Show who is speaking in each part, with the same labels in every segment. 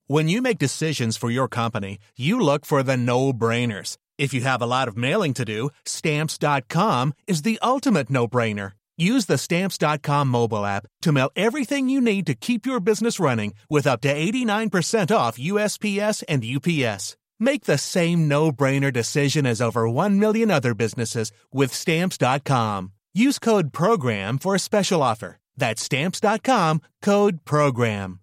Speaker 1: When you make decisions for your company, you look for the no-brainers. If you have a lot of mailing to do, Stamps.com is the ultimate no-brainer. Use the Stamps.com mobile app to mail everything you need to keep your business running with up to 89% off USPS and UPS. Make the same no-brainer decision as over 1 million other businesses with Stamps.com. Use code PROGRAM for a special offer. That's Stamps.com, code PROGRAM.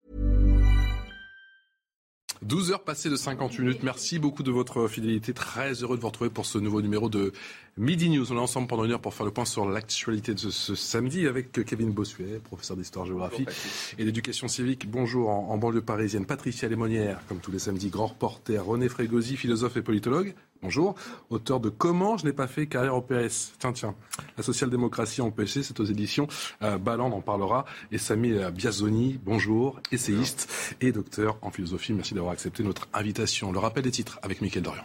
Speaker 2: 12 heures passées de 50 minutes. Merci beaucoup de votre fidélité. Très heureux de vous retrouver pour ce nouveau numéro de Midi News. On est ensemble pendant une heure pour faire le point sur l'actualité de ce samedi avec Kevin Bossuet, professeur d'histoire-géographie et d'éducation civique. Bonjour en banlieue parisienne. Patricia Lémonière, comme tous les samedis, grand reporter. René Frégosi, philosophe et politologue. Bonjour. Auteur de Comment je n'ai pas fait carrière au PS. Tiens. La social-démocratie empêchée, c'est aux éditions Balland, on en parlera. Et Samy Biazoni, bonjour, essayiste et docteur en philosophie. Merci d'avoir accepté notre invitation. Le rappel des titres avec Mickaël Dorian.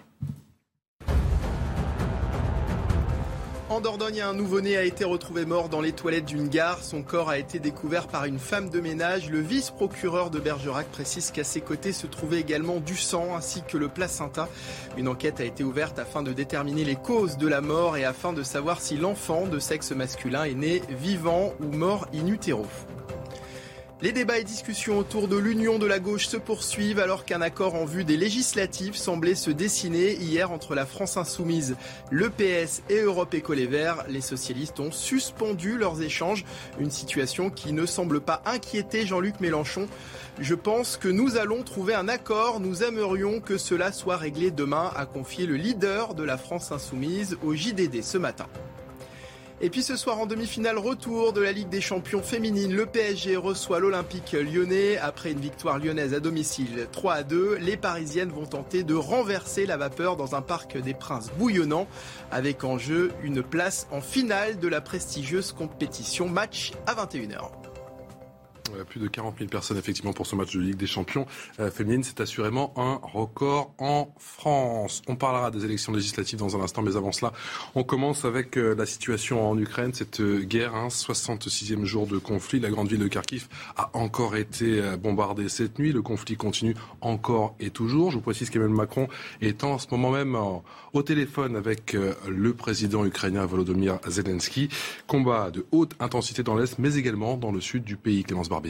Speaker 3: En Dordogne, un nouveau-né a été retrouvé mort dans les toilettes d'une gare. Son corps a été découvert par une femme de ménage. Le vice-procureur de Bergerac précise qu'à ses côtés se trouvait également du sang ainsi que le placenta. Une enquête a été ouverte afin de déterminer les causes de la mort et afin de savoir si l'enfant de sexe masculin est né vivant ou mort in utero. Les débats et discussions autour de l'union de la gauche se poursuivent alors qu'un accord en vue des législatives semblait se dessiner hier entre la France Insoumise, le PS et Europe Éco Les Verts. Les socialistes ont suspendu leurs échanges, une situation qui ne semble pas inquiéter Jean-Luc Mélenchon. Je pense que nous allons trouver un accord, nous aimerions que cela soit réglé demain, a confié le leader de la France Insoumise au JDD ce matin. Et puis ce soir en demi-finale, retour de la Ligue des Champions féminine. Le PSG reçoit l'Olympique lyonnais. Après une victoire lyonnaise à domicile 3-2, les Parisiennes vont tenter de renverser la vapeur dans un Parc des Princes bouillonnant. Avec en jeu une place en finale de la prestigieuse compétition. Match à 21h.
Speaker 2: Plus de 40 000 personnes effectivement pour ce match de Ligue des Champions féminine. C'est assurément un record en France. On parlera des élections législatives dans un instant, mais avant cela, on commence avec la situation en Ukraine. Cette guerre, 66e jour de conflit. La grande ville de Kharkiv a encore été bombardée cette nuit. Le conflit continue encore et toujours. Je vous précise qu'Emmanuel Macron est en ce moment même au téléphone avec le président ukrainien Volodymyr Zelensky. Combat de haute intensité dans l'Est, mais également dans le sud du pays. Clémence Barbier.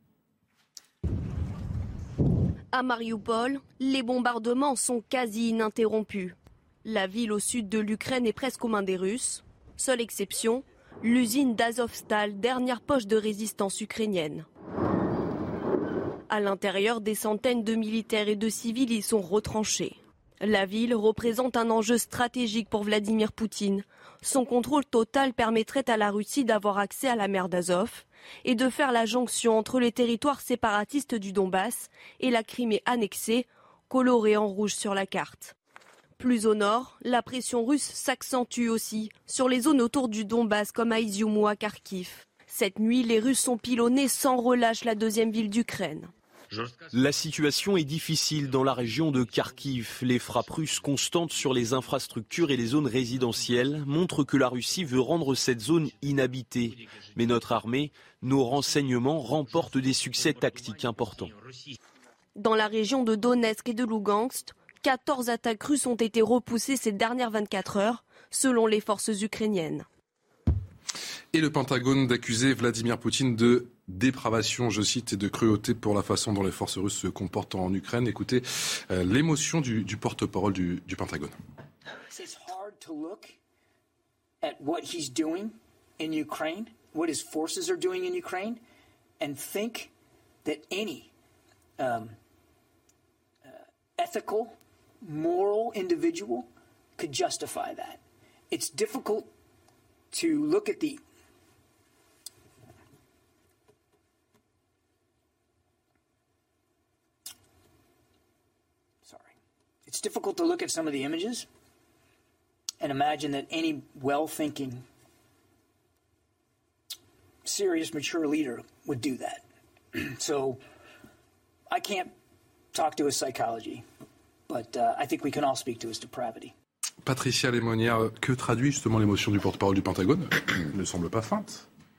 Speaker 4: À Mariupol, les bombardements sont quasi ininterrompus. La ville au sud de l'Ukraine est presque aux mains des Russes. Seule exception, l'usine d'Azovstal, dernière poche de résistance ukrainienne. À l'intérieur, des centaines de militaires et de civils y sont retranchés. La ville représente un enjeu stratégique pour Vladimir Poutine. Son contrôle total permettrait à la Russie d'avoir accès à la mer d'Azov et de faire la jonction entre les territoires séparatistes du Donbass et la Crimée annexée, colorée en rouge sur la carte. Plus au nord, la pression russe s'accentue aussi sur les zones autour du Donbass comme à Izium ou à Kharkiv. Cette nuit, les Russes ont pilonné sans relâche la deuxième ville d'Ukraine.
Speaker 5: La situation est difficile dans la région de Kharkiv. Les frappes russes constantes sur les infrastructures et les zones résidentielles montrent que la Russie veut rendre cette zone inhabitée. Mais notre armée, nos renseignements remportent des succès tactiques importants.
Speaker 4: Dans la région de Donetsk et de Lougansk, 14 attaques russes ont été repoussées ces dernières 24 heures, selon les forces ukrainiennes.
Speaker 2: Et le Pentagone d'accuser Vladimir Poutine de dépravation, je cite, et de cruauté pour la façon dont les forces russes se comportent en Ukraine. Écoutez l'émotion du porte-parole du Pentagone.
Speaker 6: It's hard to look at what he's doing in Ukraine, what his forces are doing in Ukraine, and think that any ethical, moral individual could justify that. It's difficult to look at the It's difficult to look at some of the images and imagine that any well-thinking, serious, mature leader would do that. So I can't talk to his psychology, but I think we can all speak to his depravity.
Speaker 2: Patricia Lémonière, que traduit justement l'émotion du porte-parole du Pentagone ? Elle ne semble pas feinte.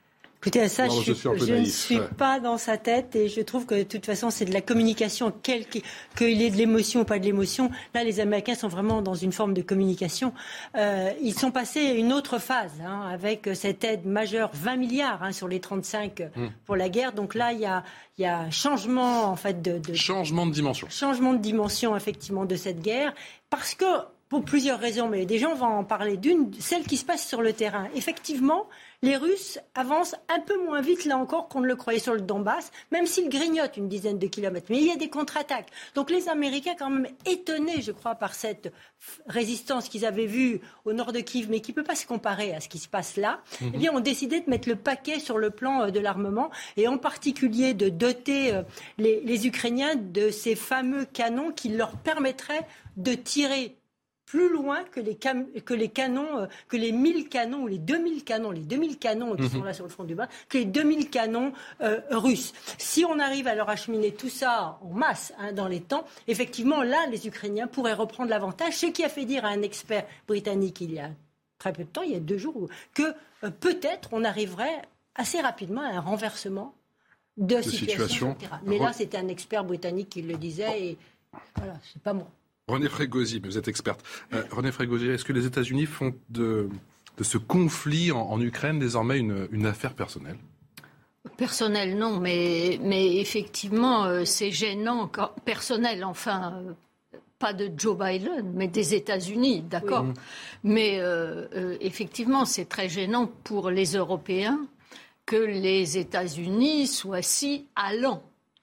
Speaker 7: Écoutez, ça, je ne suis pas dans sa tête et je trouve que de toute façon, c'est de la communication, qu'il ait de l'émotion ou pas de l'émotion. Là, les Américains sont vraiment dans une forme de communication. Ils sont passés à une autre phase avec cette aide majeure, 20 milliards sur les 35 pour la guerre. Donc là, il y a un changement en fait
Speaker 2: changement de dimension.
Speaker 7: Changement de dimension effectivement de cette guerre parce que pour plusieurs raisons, mais déjà on va en parler d'une, celle qui se passe sur le terrain. Effectivement, les Russes avancent un peu moins vite, là encore, qu'on ne le croyait sur le Donbass, même s'ils grignotent une dizaine de kilomètres. Mais il y a des contre-attaques. Donc les Américains, quand même étonnés, je crois, par cette résistance qu'ils avaient vue au nord de Kiev, mais qui ne peut pas se comparer à ce qui se passe là, eh bien, ont décidé de mettre le paquet sur le plan de l'armement, et en particulier de doter les Ukrainiens de ces fameux canons qui leur permettraient de tirer plus loin que les canons, que les 1000 canons ou les 2000 canons qui sont là sur le front du bas, que les 2000 canons russes. Si on arrive à leur acheminer tout ça en masse dans les temps, effectivement, là, les Ukrainiens pourraient reprendre l'avantage. Ce qui a fait dire à un expert britannique il y a très peu de temps, il y a 2 jours, que peut-être on arriverait assez rapidement à un renversement de situation. Etc. Mais là, c'était un expert britannique qui le disait et voilà, c'est pas moi.
Speaker 2: René Frégosi, vous êtes experte. René Frégosi, est-ce que les États-Unis font de ce conflit en Ukraine désormais une affaire personnelle ?
Speaker 8: Personnel, non, mais effectivement, c'est gênant. Personnel, enfin, pas de Joe Biden, mais des États-Unis, d'accord. Oui. Mais effectivement, c'est très gênant pour les Européens que les États-Unis soient si allants.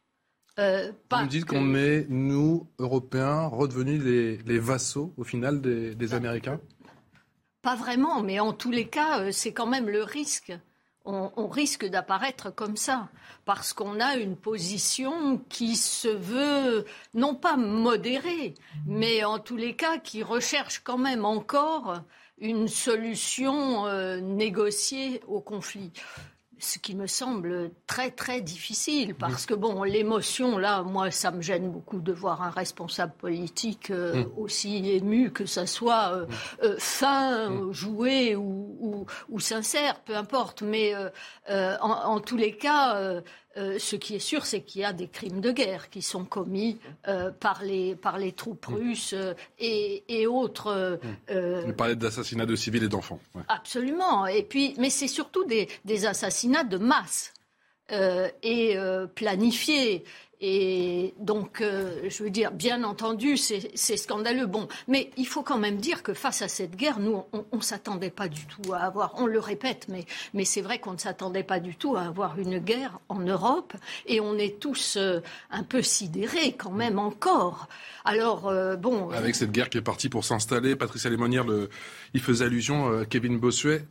Speaker 2: Vous me dites qu'on est, nous, Européens, redevenus les vassaux, au final, des Américains ?
Speaker 8: Pas vraiment, mais en tous les cas, c'est quand même le risque. On risque d'apparaître comme ça, parce qu'on a une position qui se veut, non pas modérée, mais en tous les cas, qui recherche quand même encore une solution négociée au conflit. Ce qui me semble très, très difficile, parce que, bon, l'émotion, là, moi, ça me gêne beaucoup de voir un responsable politique aussi ému, que ça soit fin, joué ou sincère, peu importe. Mais en tous les cas, ce qui est sûr, c'est qu'il y a des crimes de guerre qui sont commis par les troupes russes et autres.
Speaker 2: Vous parlez d'assassinats de civils et d'enfants. Ouais.
Speaker 8: Absolument. Et puis, mais c'est surtout des assassinats de masse et planifiés. Et donc, je veux dire, bien entendu, c'est scandaleux. Bon, mais il faut quand même dire que face à cette guerre, nous, on ne s'attendait pas du tout à avoir, on le répète, mais c'est vrai qu'on ne s'attendait pas du tout à avoir une guerre en Europe. Et on est tous un peu sidérés quand même encore. Alors, bon...
Speaker 2: Avec cette guerre qui est partie pour s'installer, Patricia Lémonière, il faisait allusion, Kevin Bossuet,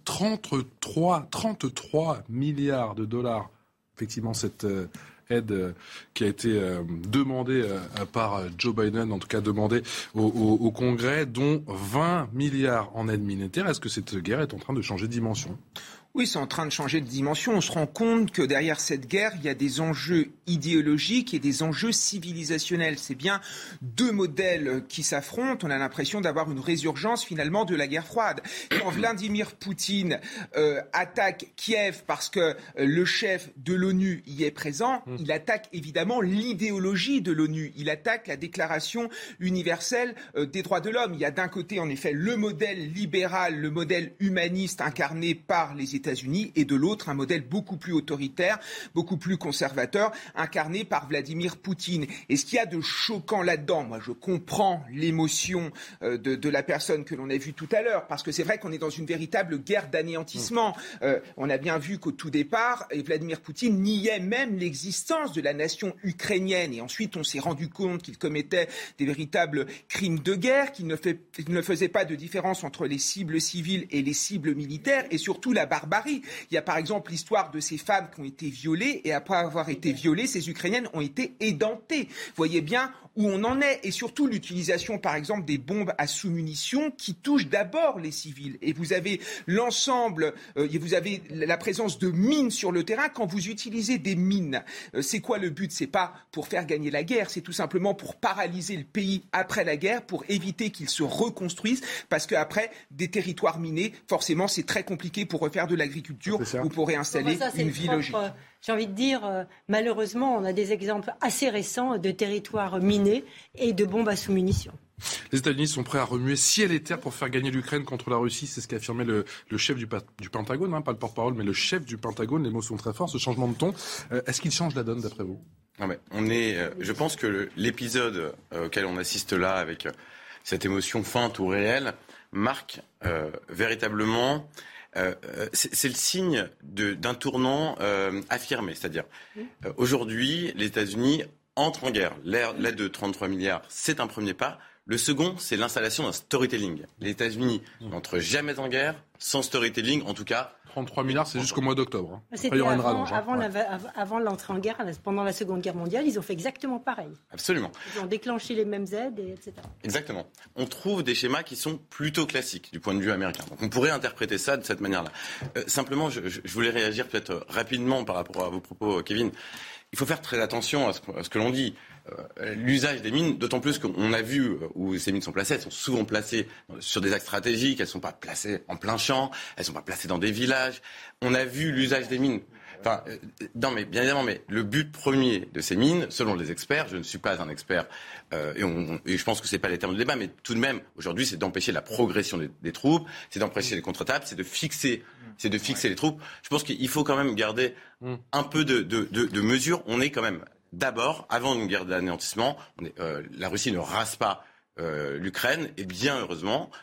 Speaker 2: 33 milliards de dollars. Effectivement, cette... aide qui a été demandée par Joe Biden, en tout cas demandée au Congrès, dont 20 milliards en aide militaire. Est-ce que cette guerre est en train de changer de dimension ?
Speaker 9: Oui, c'est en train de changer de dimension. On se rend compte que derrière cette guerre, il y a des enjeux idéologiques et des enjeux civilisationnels. C'est bien 2 modèles qui s'affrontent. On a l'impression d'avoir une résurgence finalement de la guerre froide. Quand Vladimir Poutine attaque Kiev parce que le chef de l'ONU y est présent, il attaque évidemment l'idéologie de l'ONU. Il attaque la Déclaration universelle des droits de l'homme. Il y a d'un côté en effet le modèle libéral, le modèle humaniste incarné par les États-Unis, et de l'autre un modèle beaucoup plus autoritaire, beaucoup plus conservateur, incarné par Vladimir Poutine. Et ce qu'il y a de choquant là-dedans, moi je comprends l'émotion de la personne que l'on a vue tout à l'heure, parce que c'est vrai qu'on est dans une véritable guerre d'anéantissement. On a bien vu qu'au tout départ, Vladimir Poutine niait même l'existence de la nation ukrainienne, et ensuite on s'est rendu compte qu'il commettait des véritables crimes de guerre, qu'il ne faisait pas de différence entre les cibles civiles et les cibles militaires, et surtout la barbarie. Il y a par exemple l'histoire de ces femmes qui ont été violées, et après avoir été violées, ces Ukrainiennes ont été édentées. Vous voyez bien où on en est, et surtout l'utilisation par exemple des bombes à sous-munitions qui touchent d'abord les civils. Et vous avez l'ensemble, vous avez la présence de mines sur le terrain. Quand vous utilisez des mines, c'est quoi le but ? C'est pas pour faire gagner la guerre, c'est tout simplement pour paralyser le pays après la guerre, pour éviter qu'il se reconstruise, parce qu'après des territoires minés, forcément c'est très compliqué pour refaire de l'agriculture ou pour réinstaller une vie logique.
Speaker 7: J'ai envie de dire, malheureusement, on a des exemples assez récents de territoires minés et de bombes à sous-munitions.
Speaker 2: Les États-Unis sont prêts à remuer ciel et terre pour faire gagner l'Ukraine contre la Russie. C'est ce qu'a affirmé le chef du Pentagone, pas le porte-parole, mais le chef du Pentagone. Les mots sont très forts, ce changement de ton. Est-ce qu'il change la donne, d'après vous ?
Speaker 10: Non, mais je pense que l'épisode auquel on assiste là, avec cette émotion feinte ou réelle, marque véritablement... c'est le signe d'un tournant affirmé. C'est-à-dire, aujourd'hui, les États-Unis entrent en guerre. L'aide de 33 milliards, c'est un premier pas. Le second, c'est l'installation d'un storytelling. Les États-Unis n'entrent jamais en guerre sans storytelling, en tout cas.
Speaker 2: 33 milliards, c'est jusqu'au mois d'octobre.
Speaker 7: C'était avant l'entrée en guerre, pendant la Seconde Guerre mondiale, ils ont fait exactement pareil.
Speaker 10: Absolument.
Speaker 7: Ils ont déclenché les mêmes aides, etc.
Speaker 10: Exactement. On trouve des schémas qui sont plutôt classiques du point de vue américain. Donc on pourrait interpréter ça de cette manière-là. Simplement, je voulais réagir peut-être rapidement par rapport à vos propos, Kevin. Il faut faire très attention à ce que l'on dit. L'usage des mines, d'autant plus qu'on a vu où ces mines sont placées, elles sont souvent placées sur des axes stratégiques, elles ne sont pas placées en plein champ, elles ne sont pas placées dans des villages. On a vu l'usage des mines. Enfin, non, mais bien évidemment, mais le but premier de ces mines, selon les experts, je ne suis pas un expert, et je pense que c'est pas les termes de débat, mais tout de même, aujourd'hui, c'est d'empêcher la progression des troupes, c'est d'empêcher les contre-attaques, c'est de fixer les troupes. Je pense qu'il faut quand même garder un peu de mesure. On est quand même d'abord, avant une guerre d'anéantissement, la Russie ne rase pas l'Ukraine, et bien heureusement.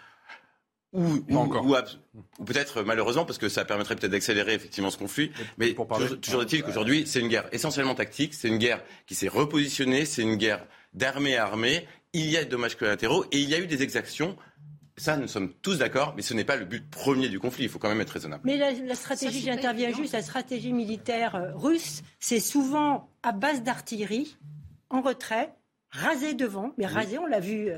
Speaker 10: Ou peut-être malheureusement, parce que ça permettrait peut-être d'accélérer effectivement ce conflit. Mais toujours est-il qu'aujourd'hui, c'est une guerre essentiellement tactique, c'est une guerre qui s'est repositionnée, c'est une guerre d'armée à armée. Il y a des dommages collatéraux et il y a eu des exactions. Ça, nous sommes tous d'accord, mais ce n'est pas le but premier du conflit. Il faut quand même être raisonnable.
Speaker 7: Mais la stratégie, j'interviens juste, la stratégie militaire russe, c'est souvent à base d'artillerie, en retrait, raser devant, mais raser, on l'a vu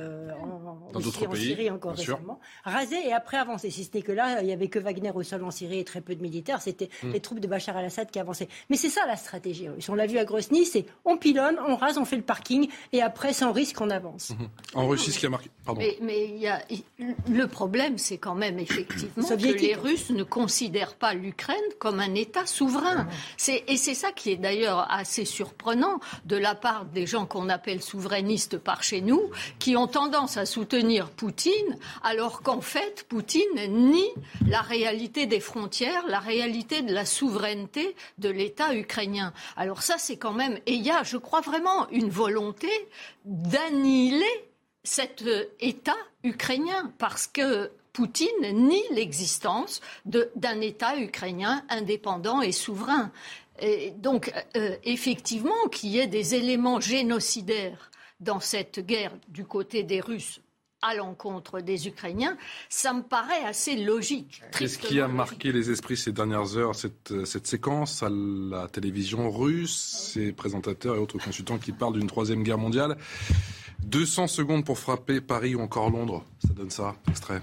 Speaker 7: en Syrie encore récemment, raser et après avancer. Si ce n'est que là, il n'y avait que Wagner au sol en Syrie et très peu de militaires, c'était les troupes de Bachar el-Assad qui avançaient. Mais c'est ça la stratégie russe. On l'a vu à Grozny, c'est on pilonne, on rase, on fait le parking et après, sans risque, on avance.
Speaker 2: En Russie, ce qui a marqué... Pardon.
Speaker 8: Mais le problème, c'est quand même effectivement que les Russes ne considèrent pas l'Ukraine comme un État souverain. Et c'est ça qui est d'ailleurs assez surprenant de la part des gens qu'on appelle souverainistes par chez nous, qui ont tendance à soutenir Poutine, alors qu'en fait, Poutine nie la réalité des frontières, la réalité de la souveraineté de l'État ukrainien. Alors ça, c'est quand même... Et il y a, je crois vraiment, une volonté d'annihiler cet État ukrainien, parce que Poutine nie l'existence d'un État ukrainien indépendant et souverain. Et donc, effectivement, qu'il y ait des éléments génocidaires dans cette guerre du côté des Russes à l'encontre des Ukrainiens, ça me paraît assez logique.
Speaker 2: Qu'est-ce qui a marqué les esprits ces dernières heures, cette séquence à la télévision russe, ces présentateurs et autres consultants qui parlent d'une troisième guerre mondiale? 200 secondes pour frapper Paris ou encore Londres, ça donne ça, extrait.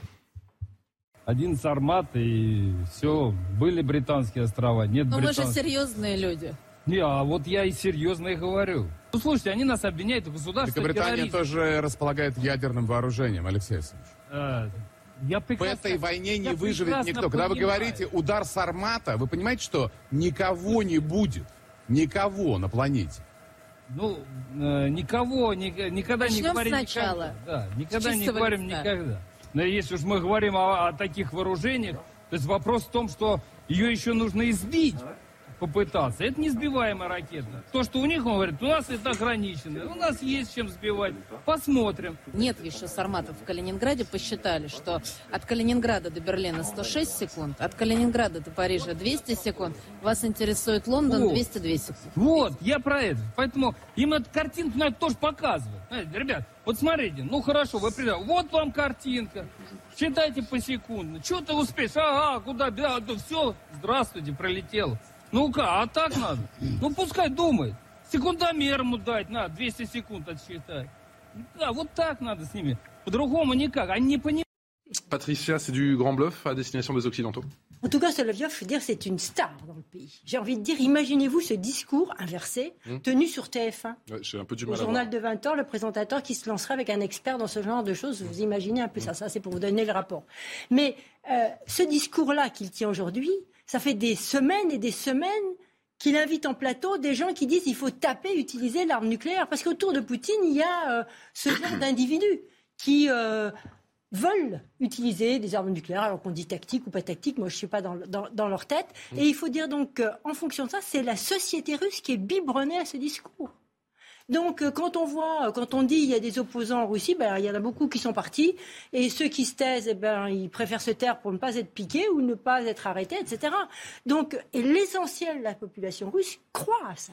Speaker 11: 11 Сармат и все, были британские острова, нет британских.
Speaker 12: Но вы же серьезные люди.
Speaker 11: Не, а вот я и серьезно и говорю. Ну, слушайте, они нас обвиняют в государстве
Speaker 13: Великобритания тоже располагает ядерным вооружением, Алексей Алексеевич. В этой войне не выживет никто. Когда вы говорите «удар Сармата», вы понимаете, что никого не будет, никого на планете.
Speaker 11: Ну, никого, никогда не говорим
Speaker 12: сначала.
Speaker 11: Никогда. Да, никогда не говорим никогда. Но если уж мы говорим о таких вооружениях, то есть вопрос в том, что ее еще нужно избить, попытаться. Это не сбиваемая ракета. То, что у них, он говорит, у нас это ограничено, у нас есть чем сбивать. Посмотрим.
Speaker 12: Нет еще сарматов в Калининграде. Посчитали, что от Калининграда до Берлина 106 секунд, от Калининграда до Парижа 200 секунд. Вас интересует Лондон 202 секунды.
Speaker 11: Вот, я про это. Поэтому им эту картинку надо тоже показывать. Знаете, ребят, вот смотрите, ну хорошо, вы придете. Вот вам картинка. Считайте посекундно. Что ты успеешь? Ага, куда? Да, все, здравствуйте, пролетел. Ну-ка, а так надо? Ну, пускай думает. Секундомер ему дать, надо, 200 секунд отсчитать. Да, вот так надо с ними. По-другому никак. Они не понимают.
Speaker 2: Patricia, c'est du grand bluff à destination des Occidentaux?
Speaker 7: En tout cas, Soloviev, je veux dire, c'est une star dans le pays. J'ai envie de dire, imaginez-vous ce discours inversé, tenu sur TF1.
Speaker 2: Ouais, j'ai un peu du mal
Speaker 7: au journal de 20h, le présentateur qui se lancerait avec un expert dans ce genre de choses. Vous imaginez un peu ça. Ça, c'est pour vous donner le rapport. Mais ce discours-là qu'il tient aujourd'hui, ça fait des semaines et des semaines qu'il invite en plateau des gens qui disent qu'il faut utiliser l'arme nucléaire. Parce qu'autour de Poutine, il y a ce genre d'individus qui veulent utiliser des armes nucléaires, alors qu'on dit tactique ou pas tactique, moi je ne suis pas dans leur tête. Et il faut dire donc qu'en fonction de ça, c'est la société russe qui est biberonnée à ce discours. Donc quand on dit il y a des opposants en Russie, il y en a beaucoup qui sont partis, et ceux qui se taisent, ils préfèrent se taire pour ne pas être piqués ou ne pas être arrêtés, etc. Donc, et l'essentiel de la population russe croit à ça.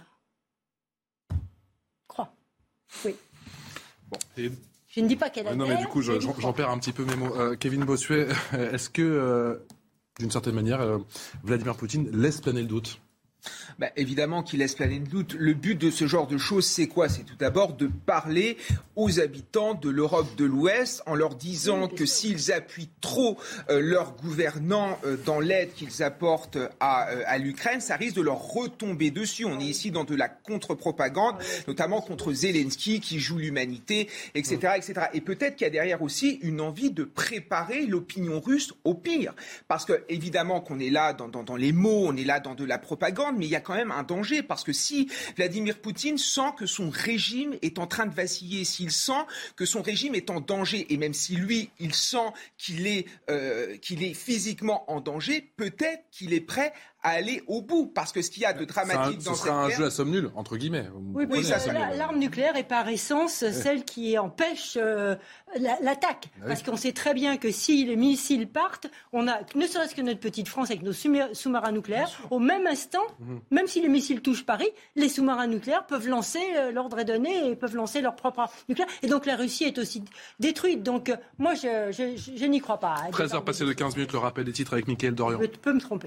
Speaker 7: Croit. Oui.
Speaker 2: Bon, et...
Speaker 7: Je ne dis pas qu'elle a
Speaker 2: non, mais du coup, j'en perds un petit peu mes mots. Kevin Bossuet, est-ce que, d'une certaine manière, Vladimir Poutine laisse planer le doute ?
Speaker 9: Évidemment qu'il laisse planer le doute. Le but de ce genre de choses, c'est quoi ? C'est tout d'abord de parler aux habitants de l'Europe de l'Ouest en leur disant que s'ils appuient trop leurs gouvernants dans l'aide qu'ils apportent à l'Ukraine, ça risque de leur retomber dessus. On est ici dans de la contre-propagande, notamment contre Zelensky qui joue l'humanité, etc., etc. Et peut-être qu'il y a derrière aussi une envie de préparer l'opinion russe au pire. Parce que, évidemment, qu'on est là dans les mots, on est là dans de la propagande, mais il y a quand même un danger, parce que si Vladimir Poutine sent que son régime est en train de vaciller, s'il sent que son régime est en danger, et même si lui, il sent qu'il est physiquement en danger, peut-être qu'il est prêt à aller au bout, parce que ce qu'il y a de dramatique dans cette guerre...
Speaker 2: Ce sera un jeu à somme nulle, entre guillemets.
Speaker 7: Oui, l'arme nucléaire est par essence celle qui empêche l'attaque. Parce qu'on sait très bien que si les missiles partent, on a, ne serait-ce que notre petite France avec nos sous-marins nucléaires, au même instant, même si les missiles touchent Paris, les sous-marins nucléaires peuvent lancer, l'ordre est donné, et peuvent lancer leur propre arme nucléaire. Et donc la Russie est aussi détruite. Donc moi, je n'y crois pas.
Speaker 2: 13h passées de 15 minutes, le rappel des titres avec Mickaël Dorian.
Speaker 7: Je peux me tromper.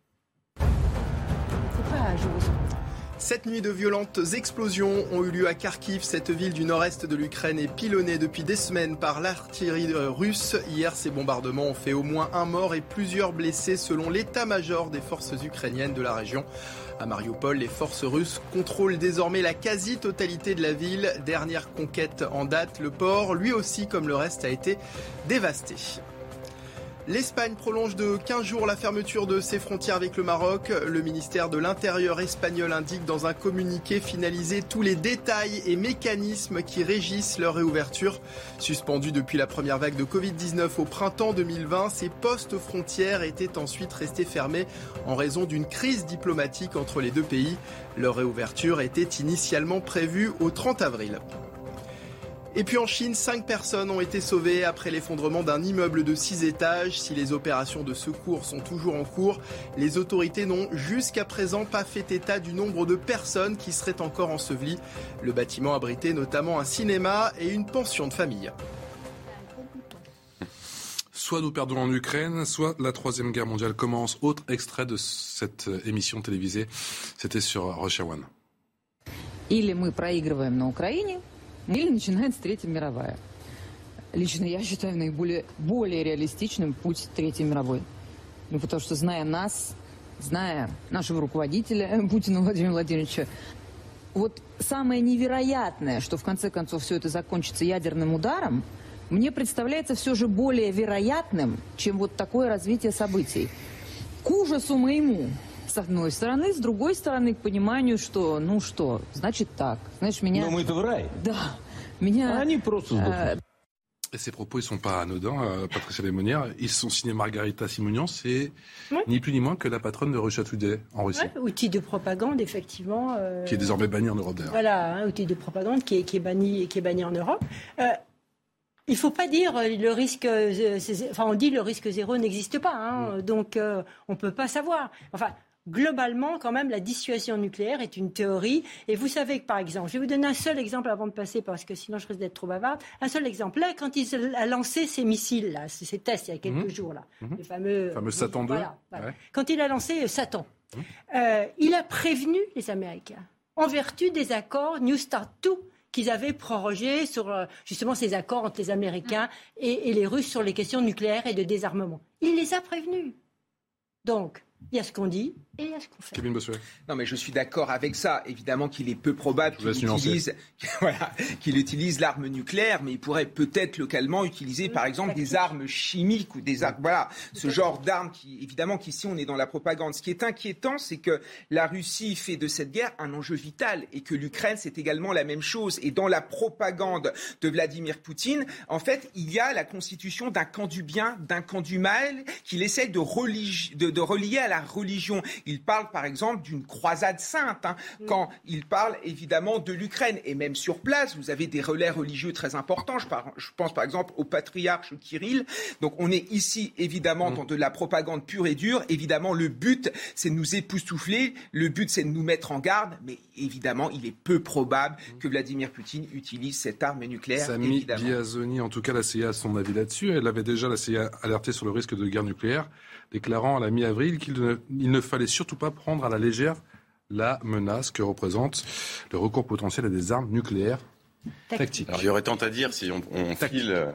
Speaker 3: 7 nuits de violentes explosions ont eu lieu à Kharkiv. Cette ville du nord-est de l'Ukraine est pilonnée depuis des semaines par l'artillerie russe. Hier, ces bombardements ont fait au moins un mort et plusieurs blessés selon l'état-major des forces ukrainiennes de la région. À Mariupol, les forces russes contrôlent désormais la quasi-totalité de la ville. Dernière conquête en date, le port, lui aussi comme le reste, a été dévasté. L'Espagne prolonge de 15 jours la fermeture de ses frontières avec le Maroc. Le ministère de l'Intérieur espagnol indique dans un communiqué finaliser tous les détails et mécanismes qui régissent leur réouverture. Suspendus depuis la première vague de Covid-19 au printemps 2020, ces postes frontières étaient ensuite restés fermés en raison d'une crise diplomatique entre les deux pays. Leur réouverture était initialement prévue au 30 avril. Et puis en Chine, 5 personnes ont été sauvées après l'effondrement d'un immeuble de 6 étages. Si les opérations de secours sont toujours en cours, les autorités n'ont jusqu'à présent pas fait état du nombre de personnes qui seraient encore ensevelies. Le bâtiment abritait notamment un cinéma et une pension de famille.
Speaker 2: Soit nous perdons en Ukraine, soit la Troisième Guerre mondiale commence. Autre extrait de cette émission télévisée, c'était sur Russia One.
Speaker 14: Или мы проигрываем на Украине, или начинается Третья мировая. Лично я считаю более реалистичным путь Третьей мировой. Ну, потому что, зная нас, зная нашего руководителя Путина Владимира Владимировича, вот самое невероятное, что в конце концов все это закончится ядерным ударом, мне представляется все же более вероятным, чем вот такое развитие событий. К ужасу моему, с одной стороны, с другой стороны, к пониманию, что, ну что, значит так. Знаешь, меня...
Speaker 15: Но мы-то в рай.
Speaker 14: Да. Меня...
Speaker 15: Они просто сдохнут.
Speaker 2: Et ces propos, ils ne sont pas anodins, Patricia Lemonnière. Ils sont signés Margarita Simonian. C'est ni plus ni moins que la patronne de Russia Today en Russie.
Speaker 7: Ouais, outil de propagande, effectivement.
Speaker 2: Qui est désormais banni en Europe, d'ailleurs.
Speaker 7: Voilà, un outil de propagande qui est banni en Europe. Il ne faut pas dire le risque... Enfin, on dit le risque zéro n'existe pas. Hein, donc, on ne peut pas savoir. Enfin... Globalement, quand même, la dissuasion nucléaire est une théorie. Et vous savez que, par exemple, je vais vous donner un seul exemple avant de passer, parce que sinon je risque d'être trop bavarde. Un seul exemple. Là, quand il a lancé ces missiles, là, ces tests il y a quelques jours, là, les fameux
Speaker 2: Satan 2.
Speaker 7: Voilà. Ouais. Quand il a lancé Satan, il a prévenu les Américains, en vertu des accords New START 2 qu'ils avaient prorogés sur justement ces accords entre les Américains et les Russes sur les questions nucléaires et de désarmement. Il les a prévenus. Donc, Il y a ce qu'on dit et il y a ce qu'on fait.
Speaker 2: Kevin Bossuet.
Speaker 9: Non, mais je suis d'accord avec ça. Évidemment qu'il est peu probable qu'il utilise l'arme nucléaire, mais il pourrait peut-être localement utiliser, par exemple, des armes chimiques ou des armes. Voilà, ce genre d'armes qui, évidemment, qu'ici on est dans la propagande. Ce qui est inquiétant, c'est que la Russie fait de cette guerre un enjeu vital et que l'Ukraine, c'est également la même chose. Et dans la propagande de Vladimir Poutine, en fait, il y a la constitution d'un camp du bien, d'un camp du mal, qu'il essaie de relier à la religion. Il parle par exemple d'une croisade sainte, quand il parle évidemment de l'Ukraine. Et même sur place, vous avez des relais religieux très importants. Je pense par exemple au patriarche Kirill. Donc on est ici évidemment dans de la propagande pure et dure. Évidemment, le but, c'est de nous époustoufler. Le but, c'est de nous mettre en garde. Mais évidemment, il est peu probable que Vladimir Poutine utilise cette arme nucléaire.
Speaker 2: Sami Biazoni, en tout cas, la CIA a son avis là-dessus. Elle avait déjà, la CIA, alerté sur le risque de guerre nucléaire, déclarant à la mi-avril qu'il ne fallait surtout pas prendre à la légère la menace que représente le recours potentiel à des armes nucléaires tactiques.
Speaker 10: Alors, il y aurait tant à dire si on file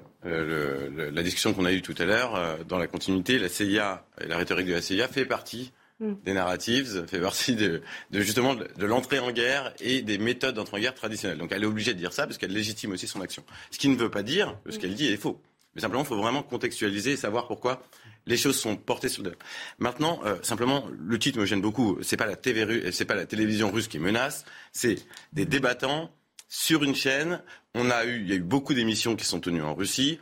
Speaker 10: la discussion qu'on a eue tout à l'heure. Dans la continuité, la CIA et la rhétorique de la CIA fait partie des narratives, fait partie de l'entrée en guerre et des méthodes d'entrée en guerre traditionnelles. Donc elle est obligée de dire ça parce qu'elle légitime aussi son action. Ce qui ne veut pas dire que ce qu'elle dit est faux. Mais simplement, il faut vraiment contextualiser et savoir pourquoi les choses sont portées sur le... Maintenant, simplement, le titre me gêne beaucoup. C'est pas la télévision russe qui menace, c'est des débattants sur une chaîne. Il y a eu beaucoup d'émissions qui sont tenues en Russie.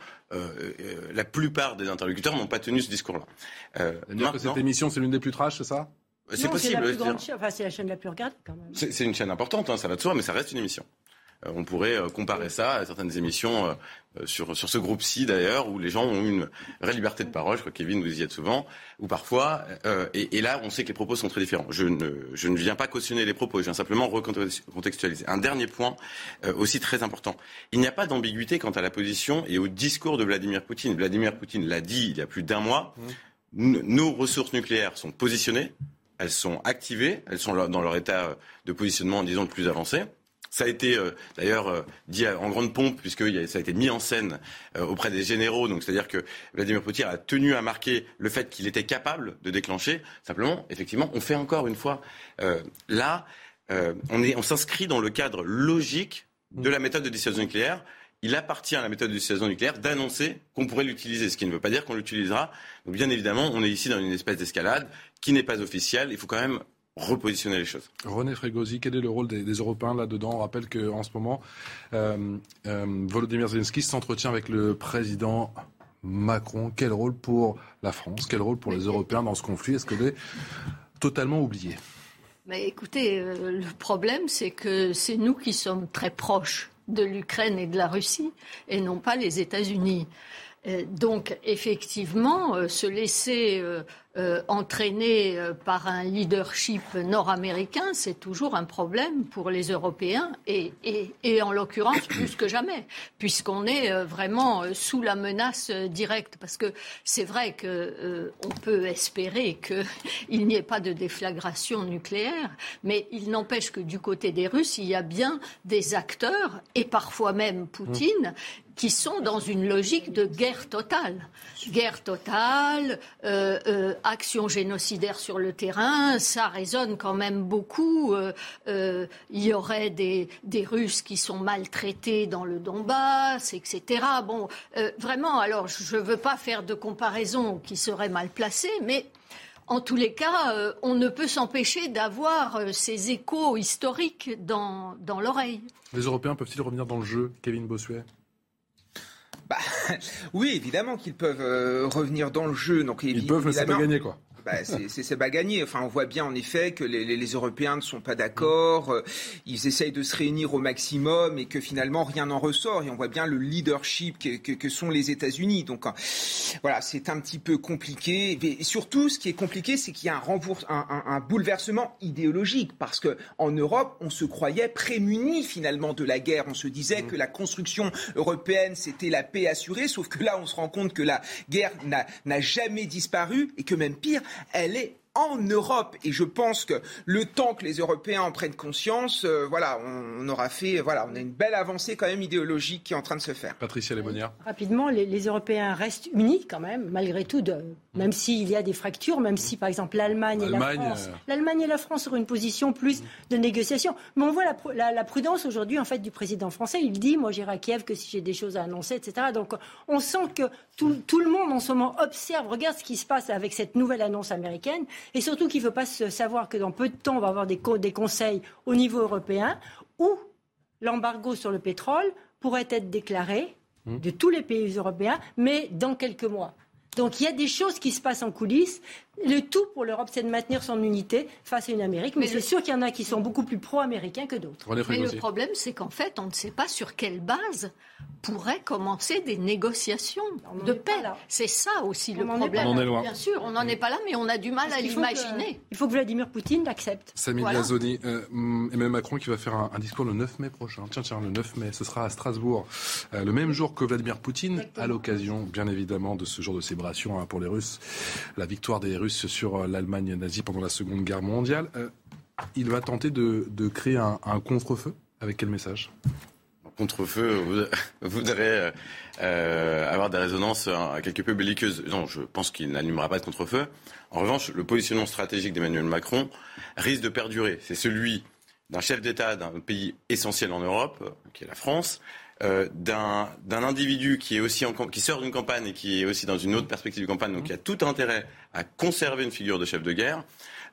Speaker 10: La plupart des interlocuteurs n'ont pas tenu ce discours-là.
Speaker 2: Maintenant, que cette émission, c'est l'une des plus trash, c'est ça ?
Speaker 7: C'est possible. C'est la plus grande chaîne, c'est la chaîne la plus regardée quand même.
Speaker 10: C'est une chaîne importante, ça va de soi, mais ça reste une émission. On pourrait comparer ça à certaines émissions sur ce groupe-ci d'ailleurs, où les gens ont une vraie liberté de parole. Je crois que Kevin, vous y êtes souvent, ou parfois. Et là, on sait que les propos sont très différents. Je ne viens pas cautionner les propos, je viens simplement recontextualiser. Un dernier point aussi très important. Il n'y a pas d'ambiguïté quant à la position et au discours de Vladimir Poutine. Vladimir Poutine l'a dit il y a plus d'1 mois. Nos ressources nucléaires sont positionnées, elles sont activées, elles sont dans leur état de positionnement, disons, le plus avancé. Ça a été d'ailleurs dit en grande pompe, puisque ça a été mis en scène auprès des généraux. Donc c'est-à-dire que Vladimir Poutine a tenu à marquer le fait qu'il était capable de déclencher. Simplement, effectivement, on fait encore une fois on s'inscrit dans le cadre logique de la méthode de dissuasion nucléaire. Il appartient à la méthode de dissuasion nucléaire d'annoncer qu'on pourrait l'utiliser, ce qui ne veut pas dire qu'on l'utilisera. Donc bien évidemment, on est ici dans une espèce d'escalade qui n'est pas officielle. Il faut quand même repositionner les choses.
Speaker 2: René Frégosi, quel est le rôle des Européens là-dedans ? On rappelle qu'en ce moment, Volodymyr Zelensky s'entretient avec le président Macron. Quel rôle pour la France ? Quel rôle pour les Européens dans ce conflit ? Est-ce qu'elle est totalement oubliée ?
Speaker 8: Mais écoutez, le problème, c'est que c'est nous qui sommes très proches de l'Ukraine et de la Russie, et non pas les États-Unis. Donc, effectivement, se laisser entraîner par un leadership nord-américain, c'est toujours un problème pour les Européens et en l'occurrence plus que jamais, puisqu'on est vraiment sous la menace directe. Parce que c'est vrai qu'on peut espérer qu'il n'y ait pas de déflagration nucléaire, mais il n'empêche que du côté des Russes, il y a bien des acteurs, et parfois même Poutine, qui sont dans une logique de guerre totale. Guerre totale, action génocidaire sur le terrain, ça résonne quand même beaucoup. Il y aurait des Russes qui sont maltraités dans le Donbass, etc. Bon, vraiment, alors je ne veux pas faire de comparaison qui serait mal placée, mais en tous les cas, on ne peut s'empêcher d'avoir ces échos historiques dans l'oreille.
Speaker 2: Les Européens peuvent-ils revenir dans le jeu, Kevin Bossuet ?
Speaker 9: Oui, évidemment qu'ils peuvent revenir dans le jeu. Donc,
Speaker 2: ils peuvent, mais c'est pas gagné, quoi.
Speaker 9: C'est pas gagné. Enfin, on voit bien en effet que les Européens ne sont pas d'accord. Ils essayent de se réunir au maximum et que finalement rien n'en ressort. Et on voit bien le leadership que sont les États-Unis. Donc voilà, c'est un petit peu compliqué. Et surtout, ce qui est compliqué, c'est qu'il y a un bouleversement idéologique, parce que en Europe, on se croyait prémunis finalement de la guerre. On se disait que la construction européenne, c'était la paix assurée. Sauf que là, on se rend compte que la guerre n'a jamais disparu et que même pire, elle est en Europe. Et je pense que le temps que les Européens en prennent conscience, on aura fait, on a une belle avancée quand même idéologique qui est en train de se faire.
Speaker 2: Patricia Lémonière.
Speaker 7: Rapidement, les Européens restent unis quand même, malgré tout, même s'il y a des fractures, même si par exemple l'Allemagne et la France auront une position plus de négociation. Mais on voit la prudence aujourd'hui en fait du président français. Il dit, moi j'irai à Kiev que si j'ai des choses à annoncer, etc. Donc on sent que tout le monde en ce moment observe, regarde ce qui se passe avec cette nouvelle annonce américaine. Et surtout qu'il ne faut pas savoir que dans peu de temps, on va avoir des conseils au niveau européen où l'embargo sur le pétrole pourrait être déclaré de tous les pays européens, mais dans quelques mois. Donc il y a des choses qui se passent en coulisses. Le tout pour l'Europe, c'est de maintenir son unité face à une Amérique. Mais c'est sûr qu'il y en a qui sont beaucoup plus pro-américains que d'autres.
Speaker 8: Mais le problème, c'est qu'en fait, on ne sait pas sur quelle base pourraient commencer des négociations de paix. C'est ça aussi le problème.
Speaker 2: On en est loin.
Speaker 8: Bien sûr, on n'en est pas là, mais on a du mal à l'imaginer.
Speaker 7: Il faut que Vladimir Poutine l'accepte.
Speaker 2: Samy Gazoni, Emmanuel Macron qui va faire un discours le 9 mai prochain. Tiens, le 9 mai, ce sera à Strasbourg. Le même jour que Vladimir Poutine, exactement. À l'occasion, bien évidemment, de ce jour de célébration pour les Russes. La victoire des Russes sur l'Allemagne nazie pendant la Seconde Guerre mondiale. Il va tenter de créer un contre-feu. Avec quel message ?
Speaker 10: Contre-feu voudrait avoir des résonances quelque peu belliqueuses. Non, je pense qu'il n'allumera pas de contre-feu. En revanche, le positionnement stratégique d'Emmanuel Macron risque de perdurer. C'est celui d'un chef d'État d'un pays essentiel en Europe, qui est la France, d'un individu qui est aussi qui sort d'une campagne et qui est aussi dans une autre perspective de campagne, donc qui a tout intérêt à conserver une figure de chef de guerre.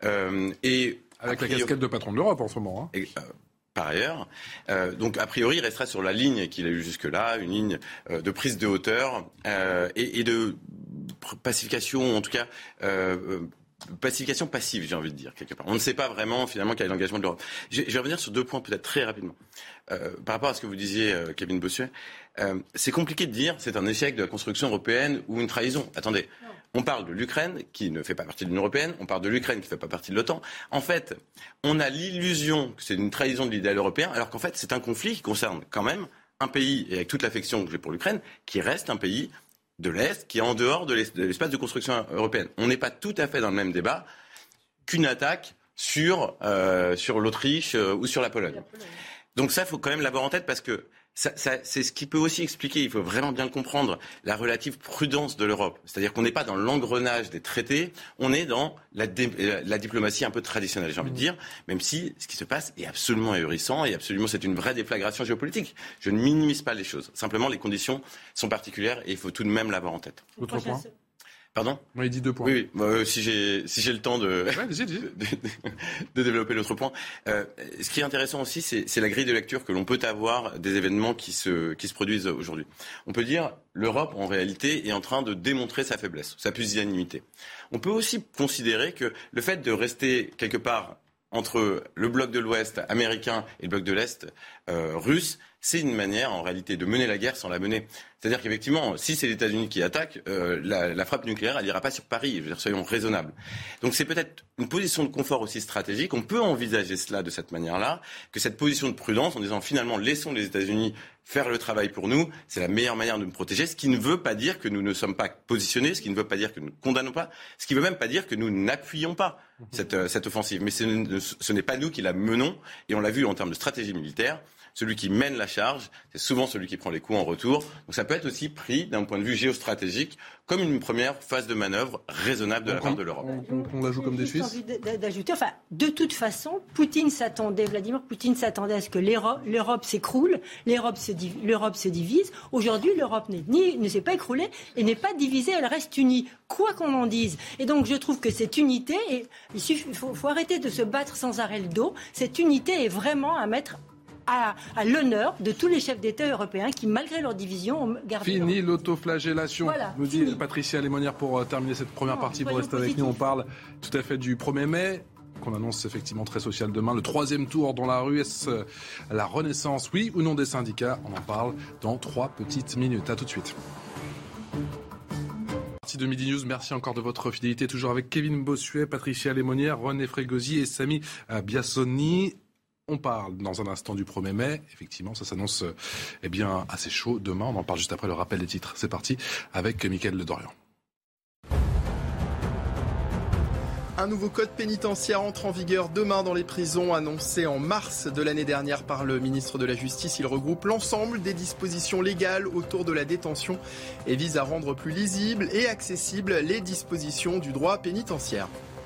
Speaker 10: Et
Speaker 2: avec la casquette de patron de l'Europe en ce moment.
Speaker 10: Par ailleurs. Donc, a priori, il restera sur la ligne qu'il a eue jusque-là, une ligne de prise de hauteur et de pacification, en tout cas, pacification passive, j'ai envie de dire, quelque part. On ne sait pas vraiment, finalement, quel est l'engagement de l'Europe. Je vais revenir sur 2 points, peut-être très rapidement. Par rapport à ce que vous disiez, Kevin Bossuet, c'est compliqué de dire c'est un échec de la construction européenne ou une trahison. Attendez. On parle de l'Ukraine, qui ne fait pas partie de l'Union européenne. On parle de l'Ukraine, qui ne fait pas partie de l'OTAN. En fait, on a l'illusion que c'est une trahison de l'idéal européen, alors qu'en fait, c'est un conflit qui concerne quand même un pays, et avec toute l'affection que j'ai pour l'Ukraine, qui reste un pays de l'Est, qui est en dehors de l'espace de construction européenne. On n'est pas tout à fait dans le même débat qu'une attaque sur l'Autriche ou sur la Pologne. Donc ça, il faut quand même l'avoir en tête parce que c'est ce qui peut aussi expliquer, il faut vraiment bien le comprendre, la relative prudence de l'Europe. C'est-à-dire qu'on n'est pas dans l'engrenage des traités, on est dans la diplomatie un peu traditionnelle, j'ai envie de dire, même si ce qui se passe est absolument ahurissant et absolument c'est une vraie déflagration géopolitique. Je ne minimise pas les choses. Simplement, les conditions sont particulières et il faut tout de même l'avoir en tête.
Speaker 2: Autre point ?
Speaker 10: Pardon ?
Speaker 2: Oui, il dit 2 points.
Speaker 10: Oui, si j'ai le temps de développer l'autre point. Ce qui est intéressant aussi, c'est la grille de lecture que l'on peut avoir des événements qui se produisent aujourd'hui. On peut dire l'Europe, en réalité, est en train de démontrer sa faiblesse, sa pusillanimité. On peut aussi considérer que le fait de rester quelque part entre le bloc de l'Ouest américain et le bloc de l'Est russe, c'est une manière, en réalité, de mener la guerre sans la mener. C'est-à-dire qu'effectivement, si c'est les États-Unis qui attaquent, la frappe nucléaire, elle n'ira pas sur Paris. Je veux dire, soyons raisonnables. Donc c'est peut-être une position de confort aussi stratégique. On peut envisager cela de cette manière-là, que cette position de prudence, en disant finalement, laissons les États-Unis faire le travail pour nous, c'est la meilleure manière de nous protéger, ce qui ne veut pas dire que nous ne sommes pas positionnés, ce qui ne veut pas dire que nous ne condamnons pas, ce qui ne veut même pas dire que nous n'appuyons pas cette offensive. Mais ce n'est pas nous qui la menons, et on l'a vu en termes de stratégie militaire. Celui qui mène la charge, c'est souvent celui qui prend les coups en retour. Donc ça peut être aussi pris d'un point de vue géostratégique comme une première phase de manœuvre raisonnable de la part de l'Europe.
Speaker 2: On la joue comme des Suisses ?
Speaker 7: J'ai envie d'ajouter, de toute façon, Vladimir Poutine s'attendait à ce que l'Europe s'écroule, l'Europe se divise. Aujourd'hui, l'Europe ne s'est pas écroulée et n'est pas divisée, elle reste unie, quoi qu'on en dise. Et donc je trouve que cette unité, il faut arrêter de se battre sans arrêt le dos. Cette unité est vraiment à mettre à l'honneur de tous les chefs d'État européens qui, malgré leur division, ont gardé...
Speaker 2: Fini l'autoflagellation, nous dit Patricia Lémonière pour terminer cette première partie. Vous restez avec nous, on parle tout à fait du 1er mai, qu'on annonce effectivement très social demain. Le 3e tour dans la rue, est-ce la renaissance, oui ou non, des syndicats ? On en parle dans 3 petites minutes. À tout de suite. De Midi News, merci encore de votre fidélité, toujours avec Kevin Bossuet, Patricia Lémonière, René Frégosi et Samy Biassoni. On parle dans un instant du 1er mai. Effectivement, ça s'annonce assez chaud demain. On en parle juste après le rappel des titres. C'est parti avec Mickaël Le Dorian.
Speaker 3: Un nouveau code pénitentiaire entre en vigueur demain dans les prisons, annoncé en mars de l'année dernière par le ministre de la Justice. Il regroupe l'ensemble des dispositions légales autour de la détention et vise à rendre plus lisibles et accessibles les dispositions du droit pénitentiaire.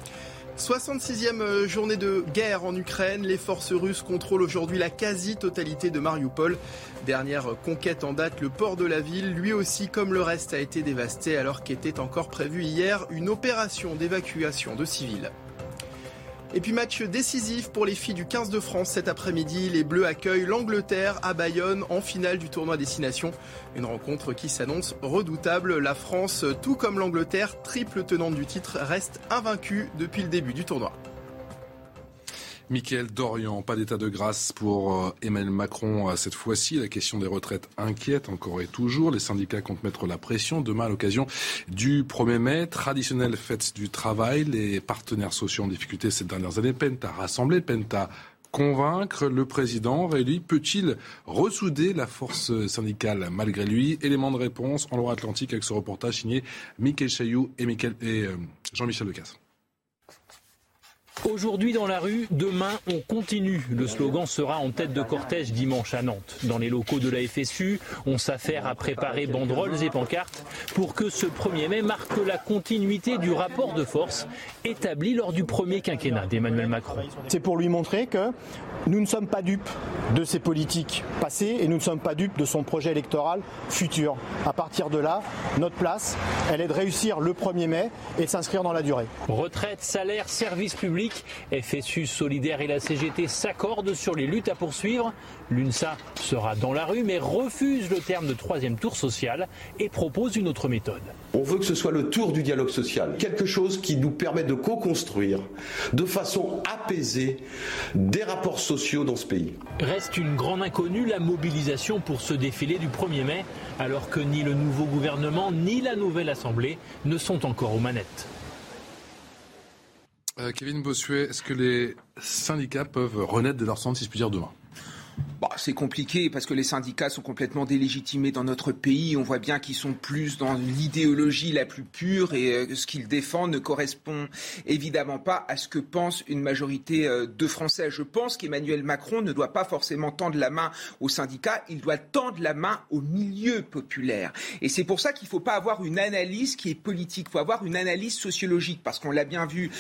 Speaker 3: 66e journée de guerre en Ukraine. Les forces russes contrôlent aujourd'hui la quasi-totalité de Mariupol. Dernière conquête en date, le port de la ville, lui aussi comme le reste, a été dévasté alors qu'était encore prévue hier une opération d'évacuation de civils. Et puis match décisif pour les filles du 15 de France cet après-midi. Les Bleus accueillent l'Angleterre à Bayonne en finale du tournoi Destination. Une rencontre qui s'annonce redoutable. La France, tout comme l'Angleterre, triple tenante du titre, reste invaincue depuis le début du tournoi.
Speaker 2: Mickaël Dorian, pas d'état de grâce pour Emmanuel Macron cette fois-ci. La question des retraites inquiète encore et toujours. Les syndicats comptent mettre la pression demain à l'occasion du 1er mai. Traditionnelle fête du travail. Les partenaires sociaux en difficulté ces dernières années peinent à rassembler, peinent à convaincre. Le président réélu peut-il ressouder la force syndicale malgré lui? Élément de réponse en Loire-Atlantique avec ce reportage signé Mickaël Chailloux et Jean-Michel Decaze.
Speaker 15: Aujourd'hui dans la rue, demain on continue. Le slogan sera en tête de cortège dimanche à Nantes. Dans les locaux de la FSU, on s'affaire à préparer banderoles et pancartes pour que ce 1er mai marque la continuité du rapport de force établi lors du premier quinquennat d'Emmanuel Macron.
Speaker 16: C'est pour lui montrer que nous ne sommes pas dupes de ses politiques passées et nous ne sommes pas dupes de son projet électoral futur. À partir de là, notre place, elle est de réussir le 1er mai et de s'inscrire dans la durée.
Speaker 15: Retraite, salaire, service public, FSU Solidaire et la CGT s'accordent sur les luttes à poursuivre. L'UNSA sera dans la rue mais refuse le terme de 3e tour social et propose une autre méthode.
Speaker 17: On veut que ce soit le tour du dialogue social, quelque chose qui nous permet de co-construire de façon apaisée des rapports sociaux dans ce pays.
Speaker 15: Reste une grande inconnue, la mobilisation pour ce défilé du 1er mai, alors que ni le nouveau gouvernement ni la nouvelle Assemblée ne sont encore aux manettes.
Speaker 2: Kevin Bossuet, est-ce que les syndicats peuvent renaître de leur centre, si je puis dire, demain ?
Speaker 9: C'est compliqué parce que les syndicats sont complètement délégitimés dans notre pays. On voit bien qu'ils sont plus dans l'idéologie la plus pure et ce qu'ils défendent ne correspond évidemment pas à ce que pense une majorité de Français. Je pense qu'Emmanuel Macron ne doit pas forcément tendre la main aux syndicats, il doit tendre la main au milieu populaire. Et c'est pour ça qu'il ne faut pas avoir une analyse qui est politique, il faut avoir une analyse sociologique parce qu'on l'a bien vu,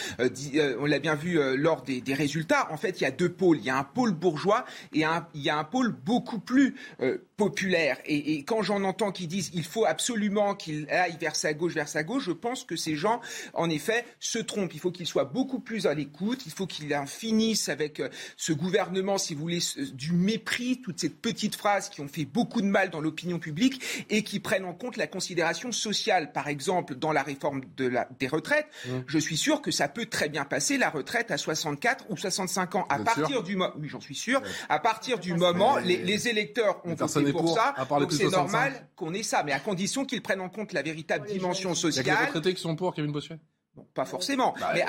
Speaker 9: lors des résultats. En fait, il y a deux pôles. Il y a un pôle bourgeois et il y a un pôle beaucoup plus populaire. Et quand j'en entends qui disent il faut absolument qu'il aille vers sa gauche, je pense que ces gens, en effet, se trompent. Il faut qu'ils soient beaucoup plus à l'écoute. Il faut qu'ils en finissent avec ce gouvernement, si vous voulez, du mépris, toutes ces petites phrases qui ont fait beaucoup de mal dans l'opinion publique et qui prennent en compte la considération sociale. Par exemple, dans la réforme des retraites, je suis sûr que ça peut très bien passer, la retraite à 64 ou 65 ans. Oui, j'en suis sûr. À partir du moment, les électeurs ont voté pour ça, donc c'est normal qu'on ait ça, mais à condition qu'ils prennent en compte la véritable dimension sociale.
Speaker 2: Il y a des retraités qui sont pour, Kevin Bossuet ?
Speaker 9: Bon, pas forcément, mais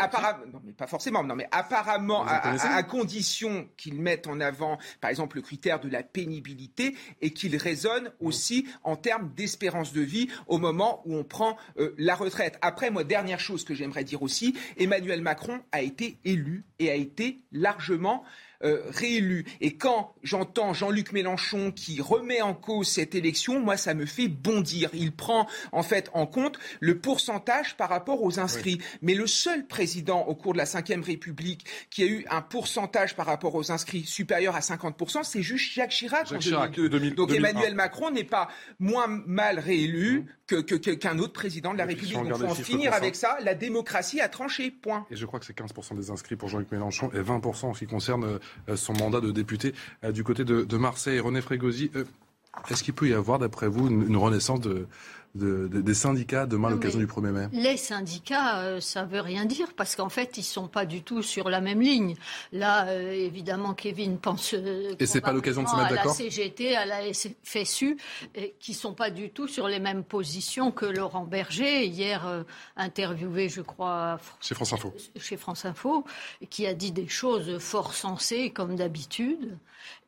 Speaker 9: apparemment, à condition qu'ils mettent en avant, par exemple, le critère de la pénibilité et qu'ils raisonnent aussi en termes d'espérance de vie au moment où on prend la retraite. Après, moi, dernière chose que j'aimerais dire aussi, Emmanuel Macron a été élu et a été largement réélu. Et quand j'entends Jean-Luc Mélenchon qui remet en cause cette élection, moi, ça me fait bondir. Il prend en fait en compte le pourcentage par rapport aux inscrits. Oui. Mais le seul président au cours de la Ve République qui a eu un pourcentage par rapport aux inscrits supérieur à 50%, c'est juste Jacques Chirac en 2002. Donc Emmanuel Macron n'est pas moins mal réélu qu'un autre président de la République. Donc il faut en finir avec ça. La démocratie a tranché, point.
Speaker 2: Et je crois que c'est 15% des inscrits pour Jean-Luc Mélenchon et 20% en ce qui concerne son mandat de député du côté de Marseille. René Frégosi, est-ce qu'il peut y avoir, d'après vous, une renaissance des syndicats demain à l'occasion du 1er mai ?
Speaker 8: Les syndicats, ça ne veut rien dire parce qu'en fait, ils ne sont pas du tout sur la même ligne. Là, évidemment, Kevin pense
Speaker 2: et c'est pas l'occasion de se mettre d'accord ?
Speaker 8: À la CGT, à la FSU, qui ne sont pas du tout sur les mêmes positions que Laurent Berger, hier interviewé, je crois, chez France Info, qui a dit des choses fort sensées, comme d'habitude.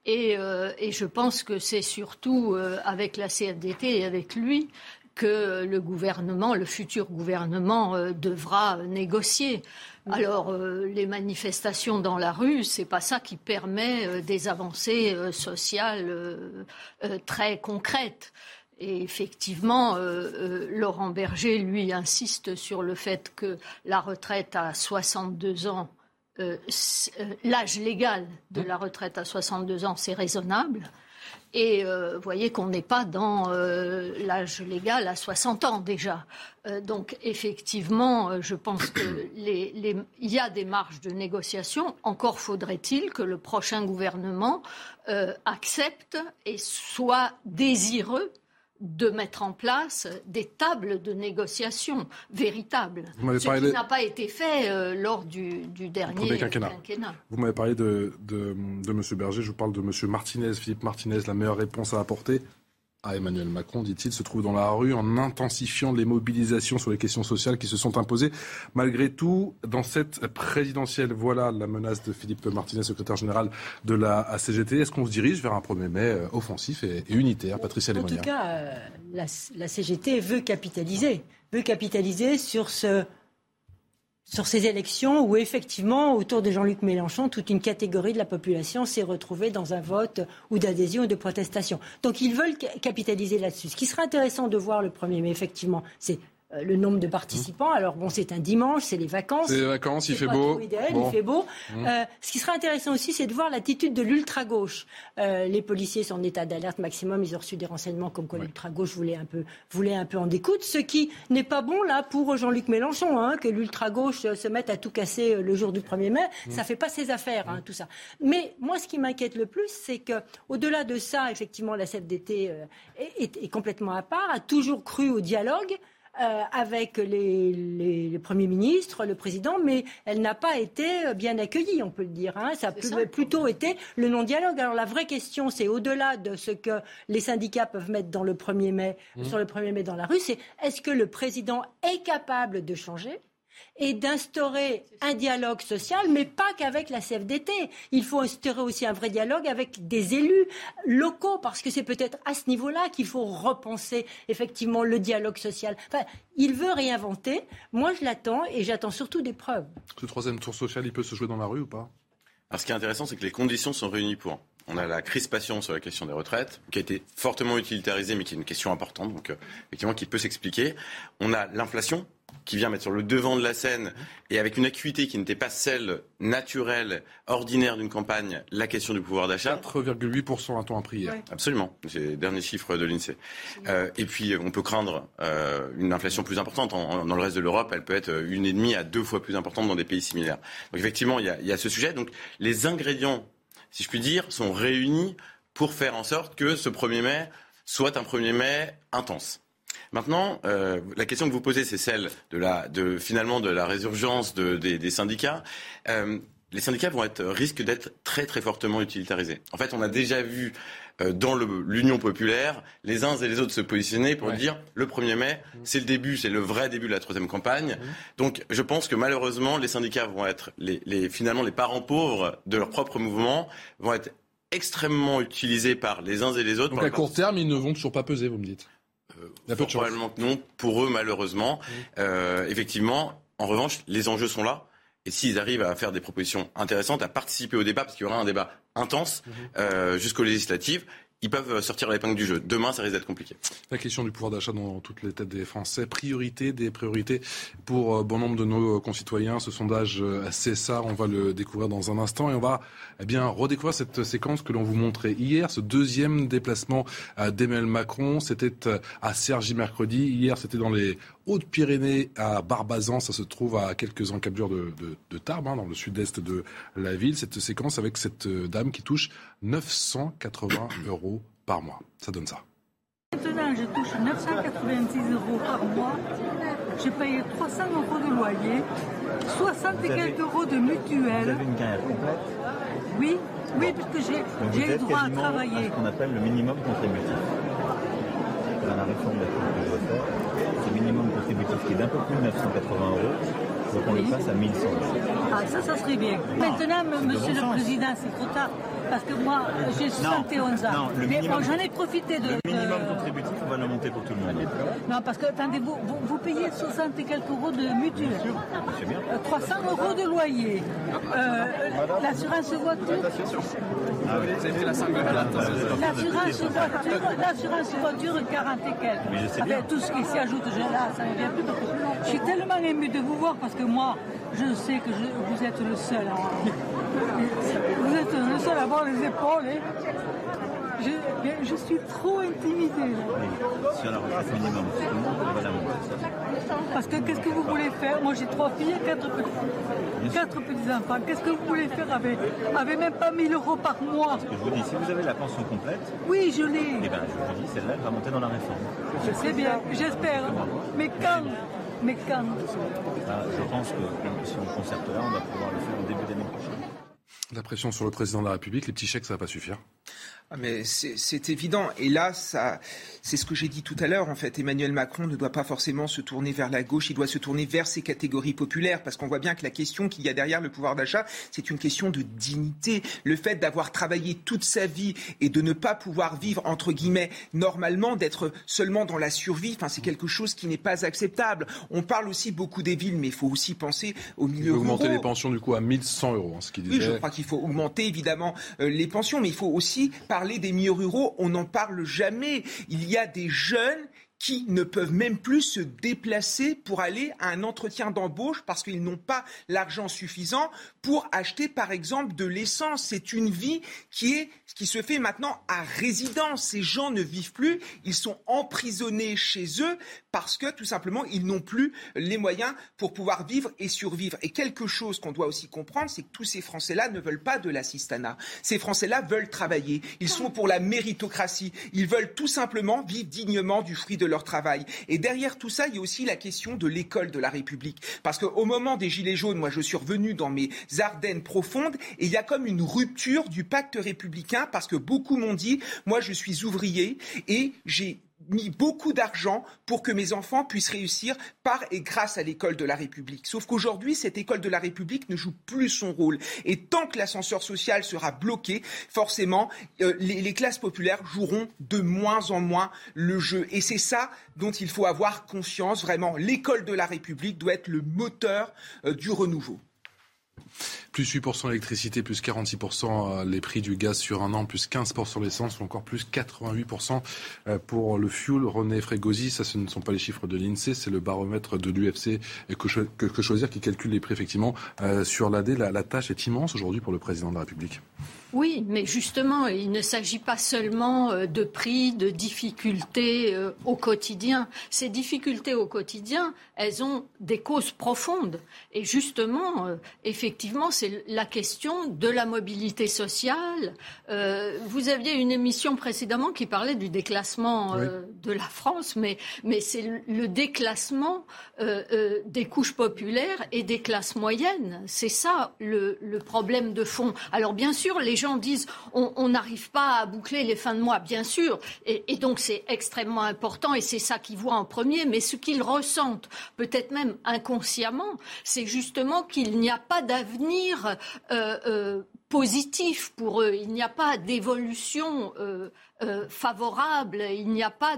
Speaker 8: Et je pense que c'est surtout avec la CFDT et avec lui que le futur gouvernement devra négocier. Alors, les manifestations dans la rue, c'est pas ça qui permet des avancées sociales très concrètes. Et effectivement, Laurent Berger, lui, insiste sur le fait que la retraite à 62 ans, l'âge légal de la retraite à 62 ans, c'est raisonnable. Et vous voyez qu'on n'est pas dans l'âge légal à 60 ans déjà. Donc effectivement, je pense qu'il y a des marges de négociation. Encore faudrait-il que le prochain gouvernement accepte et soit désireux de mettre en place des tables de négociation véritables. Ce qui n'a pas été fait lors du dernier quinquennat.
Speaker 2: Vous m'avez parlé de M. Berger, je vous parle de M. Martinez, Philippe Martinez. La meilleure réponse à apporter à Emmanuel Macron, dit-il, se trouve dans la rue en intensifiant les mobilisations sur les questions sociales qui se sont imposées malgré tout dans cette présidentielle. Voilà la menace de Philippe Martinez, secrétaire général de la CGT. Est-ce qu'on se dirige vers un 1er mai offensif et unitaire, Patricia Lemonnier ?
Speaker 7: En tout cas, la CGT veut capitaliser sur ces élections où, effectivement, autour de Jean-Luc Mélenchon, toute une catégorie de la population s'est retrouvée dans un vote ou d'adhésion ou de protestation. Donc, ils veulent capitaliser là-dessus. Ce qui serait intéressant de voir le 1er mai, effectivement, c'est le nombre de participants. Alors, bon, c'est un dimanche, c'est les vacances.
Speaker 2: C'est les vacances, il fait beau.
Speaker 7: Idéal, il fait beau. Ce qui serait intéressant aussi, c'est de voir l'attitude de l'ultra-gauche. Les policiers sont en état d'alerte maximum. Ils ont reçu des renseignements comme quoi l'ultra-gauche voulait un peu en découdre. Ce qui n'est pas bon, là, pour Jean-Luc Mélenchon, que l'ultra-gauche se mette à tout casser le jour du 1er mai. Ça fait pas ses affaires, tout ça. Mais moi, ce qui m'inquiète le plus, c'est que, au-delà de ça, effectivement, la CFDT est complètement à part, a toujours cru au dialogue. Avec les premiers ministres, le président, mais elle n'a pas été bien accueillie, on peut le dire. Ça a plutôt été le non-dialogue. Alors la vraie question, c'est au-delà de ce que les syndicats peuvent mettre dans le 1er mai, sur le 1er mai dans la rue, c'est est-ce que le président est capable de changer et d'instaurer un dialogue social, mais pas qu'avec la CFDT. Il faut instaurer aussi un vrai dialogue avec des élus locaux, parce que c'est peut-être à ce niveau-là qu'il faut repenser effectivement le dialogue social. Enfin, il veut réinventer. Moi, je l'attends, et j'attends surtout des preuves.
Speaker 2: Ce 3e tour social, il peut se jouer dans la rue ou pas ?
Speaker 10: Alors, ce qui est intéressant, c'est que les conditions sont réunies pour. On a la crispation sur la question des retraites, qui a été fortement utilitarisée, mais qui est une question importante, donc effectivement qui peut s'expliquer. On a l'inflation, qui vient mettre sur le devant de la scène, et avec une acuité qui n'était pas celle naturelle, ordinaire d'une campagne, la question du pouvoir d'achat.
Speaker 2: 4,8% a-t-on appris hier.
Speaker 10: Absolument, c'est les derniers chiffres de l'INSEE. Et puis on peut craindre une inflation plus importante. Dans le reste de l'Europe, elle peut être 1,5 à 2 fois plus importante dans des pays similaires. Donc effectivement, il y a ce sujet. Donc les ingrédients, si je puis dire, sont réunis pour faire en sorte que ce 1er mai soit un 1er mai intense. Maintenant, la question que vous posez, c'est celle finalement de la résurgence des syndicats. Les syndicats risquent d'être très très fortement utilitarisés. En fait, on a déjà vu dans l'Union populaire les uns et les autres se positionner pour dire le 1er mai, c'est le début, c'est le vrai début de la 3e campagne. Donc, je pense que malheureusement, les syndicats vont être finalement les parents pauvres de leur propre mouvement, vont être extrêmement utilisés par les uns et les autres.
Speaker 2: Donc à court terme, ils ne vont toujours pas peser, vous me dites.
Speaker 10: Probablement que non, pour eux malheureusement. Effectivement, en revanche, les enjeux sont là. Et s'ils arrivent à faire des propositions intéressantes, à participer au débat, parce qu'il y aura un débat intense jusqu'aux législatives, ils peuvent sortir l'épingle du jeu. Demain, ça risque d'être compliqué.
Speaker 2: La question du pouvoir d'achat dans toutes les têtes des Français. Des priorités pour bon nombre de nos concitoyens. Ce sondage CSA, on va le découvrir dans un instant. Et on va redécouvrir cette séquence que l'on vous montrait hier. Ce 2e déplacement d'Emmanuel Macron. C'était à Cergy mercredi. Hier, c'était dans les Hautes-Pyrénées à Barbazan. Ça se trouve à quelques encablures de Tarbes, dans le sud-est de la ville. Cette séquence avec cette dame qui touche 980 € par mois. Ça donne ça.
Speaker 18: Maintenant, je touche 986 € par mois. J'ai payé 300 € de loyer, 60 et quelques € de mutuelle.
Speaker 19: Vous avez une carrière complète ?
Speaker 18: Oui, parce que j'ai le droit à travailler.
Speaker 19: C'est ce qu'on appelle le minimum contributif. Dans la réforme de la que je veux faire, c'est le minimum contributif qui est d'un peu plus de 980 €. Donc on le passe à 1100 €.
Speaker 18: Ah, ça serait bien. Maintenant, monsieur le Président, c'est trop tard. Parce que moi, j'ai 71 ans.
Speaker 19: Non,
Speaker 18: mais bon, j'en ai profité de...
Speaker 19: Le minimum contributif, on va le monter pour tout le monde.
Speaker 18: Non, parce que, attendez, vous payez 60 et quelques euros de mutuelle.
Speaker 19: C'est bien.
Speaker 18: 300 euros de loyer. L'assurance voiture...
Speaker 19: Ah oui, vous avez fait la
Speaker 18: L'assurance voiture, 40 et quelques.
Speaker 19: Mais je sais bien.
Speaker 18: Avec tout ce qui s'y ajoute, là, ça ne vient plus. Je suis tellement émue de vous voir parce que moi, je sais que vous êtes le seul. Vous êtes le seul à avoir les épaules. Je suis trop intimidée.
Speaker 19: Sur la retraite minimum, tout le monde va la monter.
Speaker 18: Parce que qu'est-ce que vous voulez faire? Moi j'ai 3 filles et 4 petits-enfants. Qu'est-ce que vous voulez faire avec même pas 1 000 euros par mois?
Speaker 19: Je vous dis, si vous avez la pension complète,
Speaker 18: oui, je l'ai.
Speaker 19: Eh bien, je vous dis, celle-là, elle va monter dans la réforme.
Speaker 18: C'est bien, j'espère. Mais quand
Speaker 19: Je pense que si on concerte là, on va pouvoir le faire au début d'année prochaine.
Speaker 2: La pression sur le président de la République, les petits chèques, ça ne va pas suffire.
Speaker 9: Ah mais c'est évident. Et là, c'est ce que j'ai dit tout à l'heure. En fait, Emmanuel Macron ne doit pas forcément se tourner vers la gauche. Il doit se tourner vers ces catégories populaires. Parce qu'on voit bien que la question qu'il y a derrière le pouvoir d'achat, c'est une question de dignité. Le fait d'avoir travaillé toute sa vie et de ne pas pouvoir vivre, entre guillemets, normalement, d'être seulement dans la survie, c'est quelque chose qui n'est pas acceptable. On parle aussi beaucoup des villes, mais il faut aussi penser aux milieux ruraux.
Speaker 2: Augmenter les pensions, du coup, à 1 100 €, ce qu'il disait.
Speaker 9: Oui, je crois qu'il faut augmenter, évidemment, les pensions. Mais il faut aussi parler des milieux ruraux, on n'en parle jamais. Il y a des jeunes qui ne peuvent même plus se déplacer pour aller à un entretien d'embauche parce qu'ils n'ont pas l'argent suffisant pour acheter, par exemple, de l'essence. C'est une vie qui se fait maintenant à résidence. Ces gens ne vivent plus, ils sont emprisonnés chez eux parce que, tout simplement, ils n'ont plus les moyens pour pouvoir vivre et survivre. Et quelque chose qu'on doit aussi comprendre, c'est que tous ces Français-là ne veulent pas de l'assistanat. Ces Français-là veulent travailler. Ils sont pour la méritocratie. Ils veulent tout simplement vivre dignement du fruit de leur travail. Et derrière tout ça, il y a aussi la question de l'école de la République. Parce qu'au moment des Gilets jaunes, moi je suis revenu dans mes Ardennes profondes et il y a comme une rupture du pacte républicain parce que beaucoup m'ont dit, moi je suis ouvrier et j'ai mis beaucoup d'argent pour que mes enfants puissent réussir par et grâce à l'école de la République. Sauf qu'aujourd'hui, cette école de la République ne joue plus son rôle. Et tant que l'ascenseur social sera bloqué, forcément, les classes populaires joueront de moins en moins le jeu. Et c'est ça dont il faut avoir conscience. Vraiment, l'école de la République doit être le moteur du renouveau.
Speaker 2: Plus 8% l'électricité, plus 46% les prix du gaz sur un an, plus 15% l'essence, ou encore plus 88% pour le fuel. René Frégosi, ça ce ne sont pas les chiffres de l'INSEE, c'est le baromètre de l'UFC que choisir qui calcule les prix effectivement sur l'AD. La tâche est immense aujourd'hui pour le président de la République.
Speaker 8: Oui, mais justement, il ne s'agit pas seulement de prix, de difficultés au quotidien. Ces difficultés au quotidien, elles ont des causes profondes. Et justement, effectivement, c'est la question de la mobilité sociale. Vous aviez une émission précédemment qui parlait du déclassement de la France, mais c'est le déclassement des couches populaires et des classes moyennes. C'est ça le problème de fond. Alors bien sûr, les gens disent on n'arrive pas à boucler les fins de mois, bien sûr, et donc c'est extrêmement important et c'est ça qu'ils voient en premier, mais ce qu'ils ressentent, peut-être même inconsciemment, c'est justement qu'il n'y a pas d'avenir positif pour eux, il n'y a pas d'évolution favorable, il n'y a pas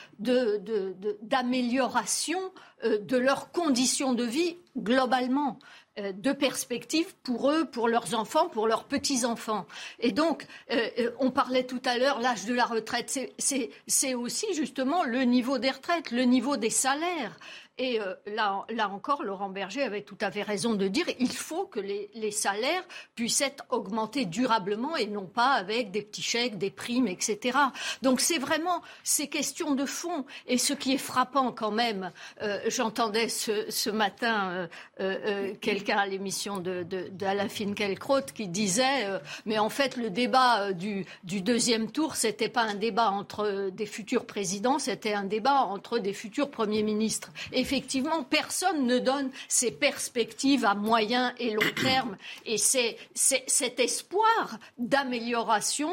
Speaker 8: d'amélioration de leurs conditions de vie globalement, de perspectives pour eux, pour leurs enfants, pour leurs petits-enfants. Et donc, on parlait tout à l'heure, l'âge de la retraite, c'est aussi justement le niveau des retraites, le niveau des salaires. Et là encore, Laurent Berger avait tout à fait raison de dire il faut que les salaires puissent être augmentés durablement et non pas avec des petits chèques, des primes, etc. Donc c'est vraiment ces questions de fond. Et ce qui est frappant quand même, j'entendais ce matin quelqu'un à l'émission d'Alain Finkielkraut qui disait mais en fait le débat du deuxième tour, c'était pas un débat entre des futurs présidents, c'était un débat entre des futurs premiers ministres. Effectivement, personne ne donne ses perspectives à moyen et long terme. Et c'est cet espoir d'amélioration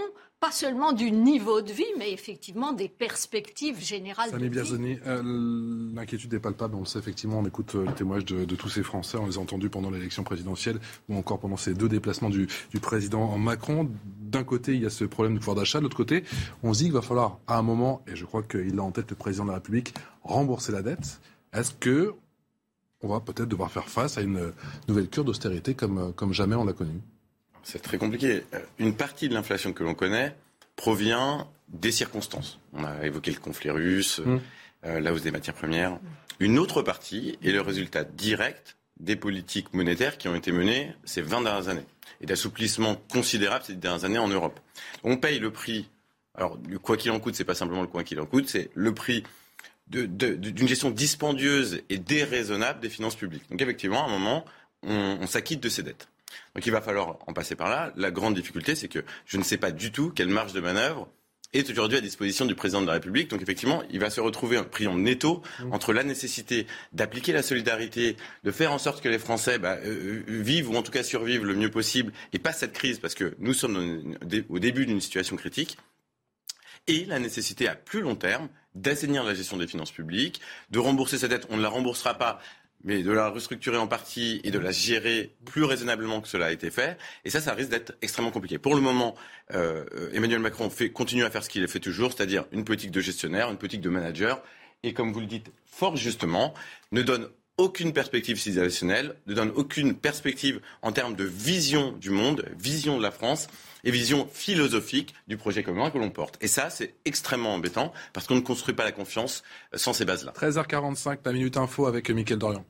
Speaker 8: pas seulement du niveau de vie, mais effectivement des perspectives générales de vie.
Speaker 2: Biazoni, l'inquiétude est palpable, on le sait effectivement, on écoute le témoignage de tous ces Français, on les a entendus pendant l'élection présidentielle ou encore pendant ces 2 déplacements du président Macron. D'un côté, il y a ce problème de pouvoir d'achat, de l'autre côté, on se dit qu'il va falloir à un moment, et je crois qu'il a en tête le président de la République, rembourser la dette. Est-ce que on va peut-être devoir faire face à une nouvelle cure d'austérité comme jamais on l'a connue?
Speaker 10: C'est très compliqué. Une partie de l'inflation que l'on connaît provient des circonstances. On a évoqué le conflit russe, la hausse des matières premières. Une autre partie est le résultat direct des politiques monétaires qui ont été menées ces 20 dernières années et d'assouplissement considérable ces dernières années en Europe. On paye le prix. Alors, le quoi qu'il en coûte, c'est pas simplement le quoi qu'il en coûte, c'est le prix d'une gestion dispendieuse et déraisonnable des finances publiques. Donc, effectivement, à un moment, on s'acquitte de ces dettes. Donc il va falloir en passer par là. La grande difficulté, c'est que je ne sais pas du tout quelle marge de manœuvre est aujourd'hui à disposition du président de la République. Donc effectivement, il va se retrouver pris en étau entre la nécessité d'appliquer la solidarité, de faire en sorte que les Français vivent ou en tout cas survivent le mieux possible et passent cette crise parce que nous sommes au début d'une situation critique, et la nécessité à plus long terme d'assainir la gestion des finances publiques, de rembourser cette dette. On ne la remboursera pas, mais de la restructurer en partie et de la gérer plus raisonnablement que cela a été fait. Et ça risque d'être extrêmement compliqué. Pour le moment, Emmanuel Macron continue à faire ce qu'il a fait toujours, c'est-à-dire une politique de gestionnaire, une politique de manager, et comme vous le dites fort justement, ne donne aucune perspective civilisationnelle, ne donne aucune perspective en termes de vision du monde, vision de la France et vision philosophique du projet commun que l'on porte. Et ça, c'est extrêmement embêtant parce qu'on ne construit pas la confiance sans ces bases-là.
Speaker 2: 13h45, la Minute Info avec Mickaël Dorian.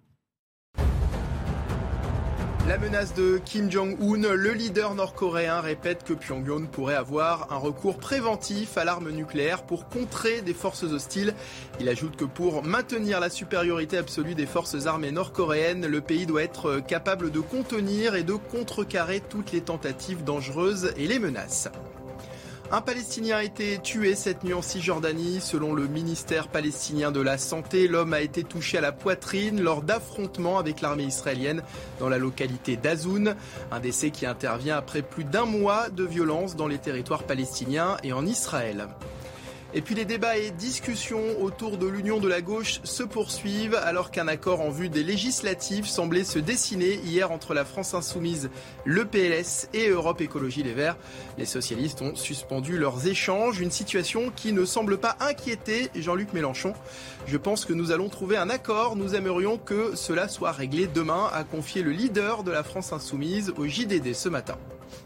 Speaker 3: La menace de Kim Jong-un, le leader nord-coréen répète que Pyongyang pourrait avoir un recours préventif à l'arme nucléaire pour contrer des forces hostiles. Il ajoute que pour maintenir la supériorité absolue des forces armées nord-coréennes, le pays doit être capable de contenir et de contrecarrer toutes les tentatives dangereuses et les menaces. Un Palestinien a été tué cette nuit en Cisjordanie. Selon le ministère palestinien de la Santé, l'homme a été touché à la poitrine lors d'affrontements avec l'armée israélienne dans la localité d'Azoun. Un décès qui intervient après plus d'1 mois de violence dans les territoires palestiniens et en Israël. Et puis les débats et discussions autour de l'union de la gauche se poursuivent alors qu'un accord en vue des législatives semblait se dessiner hier entre la France Insoumise, le PLS et Europe Écologie Les Verts. Les socialistes ont suspendu leurs échanges, une situation qui ne semble pas inquiéter Jean-Luc Mélenchon. Je pense que nous allons trouver un accord, nous aimerions que cela soit réglé demain, a confié le leader de la France Insoumise au JDD ce matin.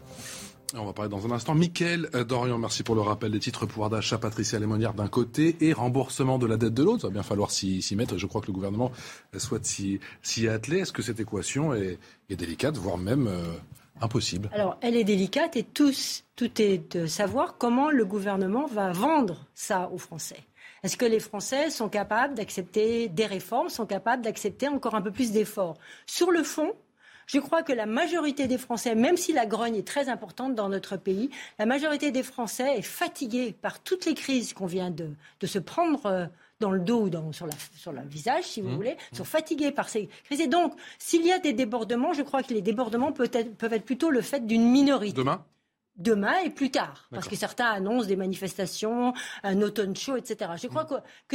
Speaker 2: On va parler dans un instant. Mickaël Dorian, merci pour le rappel des titres. Pouvoir d'achat, Patricia Lémonière d'un côté et remboursement de la dette de l'autre. Il va bien falloir s'y mettre. Je crois que le gouvernement souhaite s'y atteler. Est-ce que cette équation est délicate, voire même impossible?
Speaker 7: Alors, elle est délicate et tout est de savoir comment le gouvernement va vendre ça aux Français. Est-ce que les Français sont capables d'accepter des réformes, sont capables d'accepter encore un peu plus d'efforts? Sur le fond, je crois que la majorité des Français, même si la grogne est très importante dans notre pays, la majorité des Français est fatiguée par toutes les crises qu'on vient de se prendre dans le dos ou sur le visage, si vous voulez, sont fatigués par ces crises. Et donc, s'il y a des débordements, je crois que les débordements peuvent être plutôt le fait d'une minorité. Demain et plus tard, parce que certains annoncent des manifestations, un automne chaud, etc. Je crois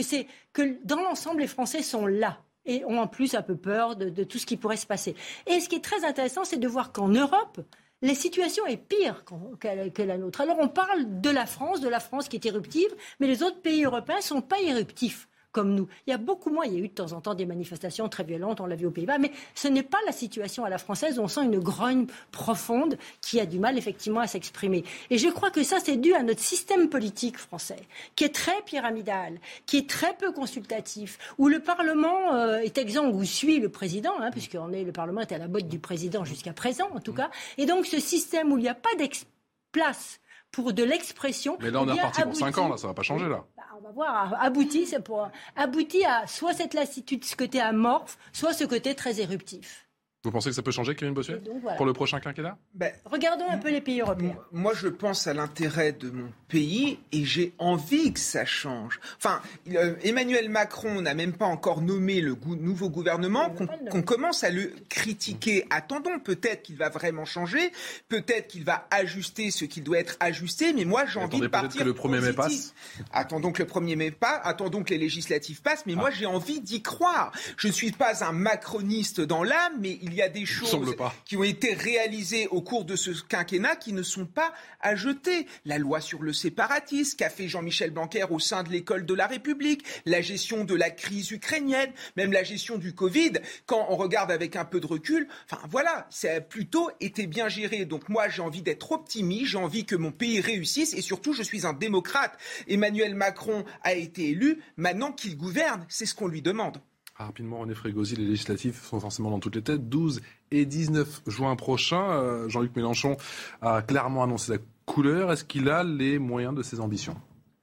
Speaker 7: que dans l'ensemble, les Français sont là. Et ont en plus un peu peur de tout ce qui pourrait se passer. Et ce qui est très intéressant, c'est de voir qu'en Europe, la situation est pire que la nôtre. Alors on parle de la France qui est éruptive, mais les autres pays européens ne sont pas éruptifs comme nous. Il y a beaucoup moins, il y a eu de temps en temps des manifestations très violentes, on l'a vu aux Pays-Bas, mais ce n'est pas la situation à la française où on sent une grogne profonde qui a du mal effectivement à s'exprimer. Et je crois que ça, c'est dû à notre système politique français, qui est très pyramidal, qui est très peu consultatif, où le Parlement est exempt, où suit le président, puisque le Parlement est à la botte du président jusqu'à présent, en tout cas. Et donc ce système où il n'y a pas place pour de l'expression.
Speaker 2: Mais là, on est reparti pour 5 ans, là, ça ne va pas changer, là.
Speaker 7: On va voir, abouti à soit cette lassitude, ce côté amorphe, soit ce côté très éruptif.
Speaker 2: Vous pensez que ça peut changer, Kevin Bossuet,
Speaker 7: voilà.
Speaker 2: pour le prochain quinquennat?
Speaker 7: Regardons un peu les pays européens.
Speaker 9: Moi, je pense à l'intérêt de mon pays et j'ai envie que ça change. Enfin, Emmanuel Macron n'a même pas encore nommé le nouveau gouvernement, qu'on commence à le critiquer. Attendons, peut-être qu'il va vraiment changer, peut-être qu'il va ajuster ce qui doit être ajusté, mais moi, j'ai envie de partir
Speaker 2: que le 1er mai passe.
Speaker 9: Attendons que le 1er mai passe, attendons que les législatives passent, mais moi, j'ai envie d'y croire. Je ne suis pas un macroniste dans l'âme, mais il y a des choses qui ont été réalisées au cours de ce quinquennat qui ne sont pas à jeter. La loi sur le séparatisme qu'a fait Jean-Michel Blanquer au sein de l'école de la République, la gestion de la crise ukrainienne, même la gestion du Covid, quand on regarde avec un peu de recul, enfin voilà, ça a plutôt été bien géré. Donc moi, j'ai envie d'être optimiste, j'ai envie que mon pays réussisse et surtout, je suis un démocrate. Emmanuel Macron a été élu, maintenant qu'il gouverne, c'est ce qu'on lui demande.
Speaker 2: Rapidement, René Frégosi, les législatives sont forcément dans toutes les têtes. 12 et 19 juin prochain, Jean-Luc Mélenchon a clairement annoncé la couleur. Est-ce qu'il a les moyens de ses ambitions ?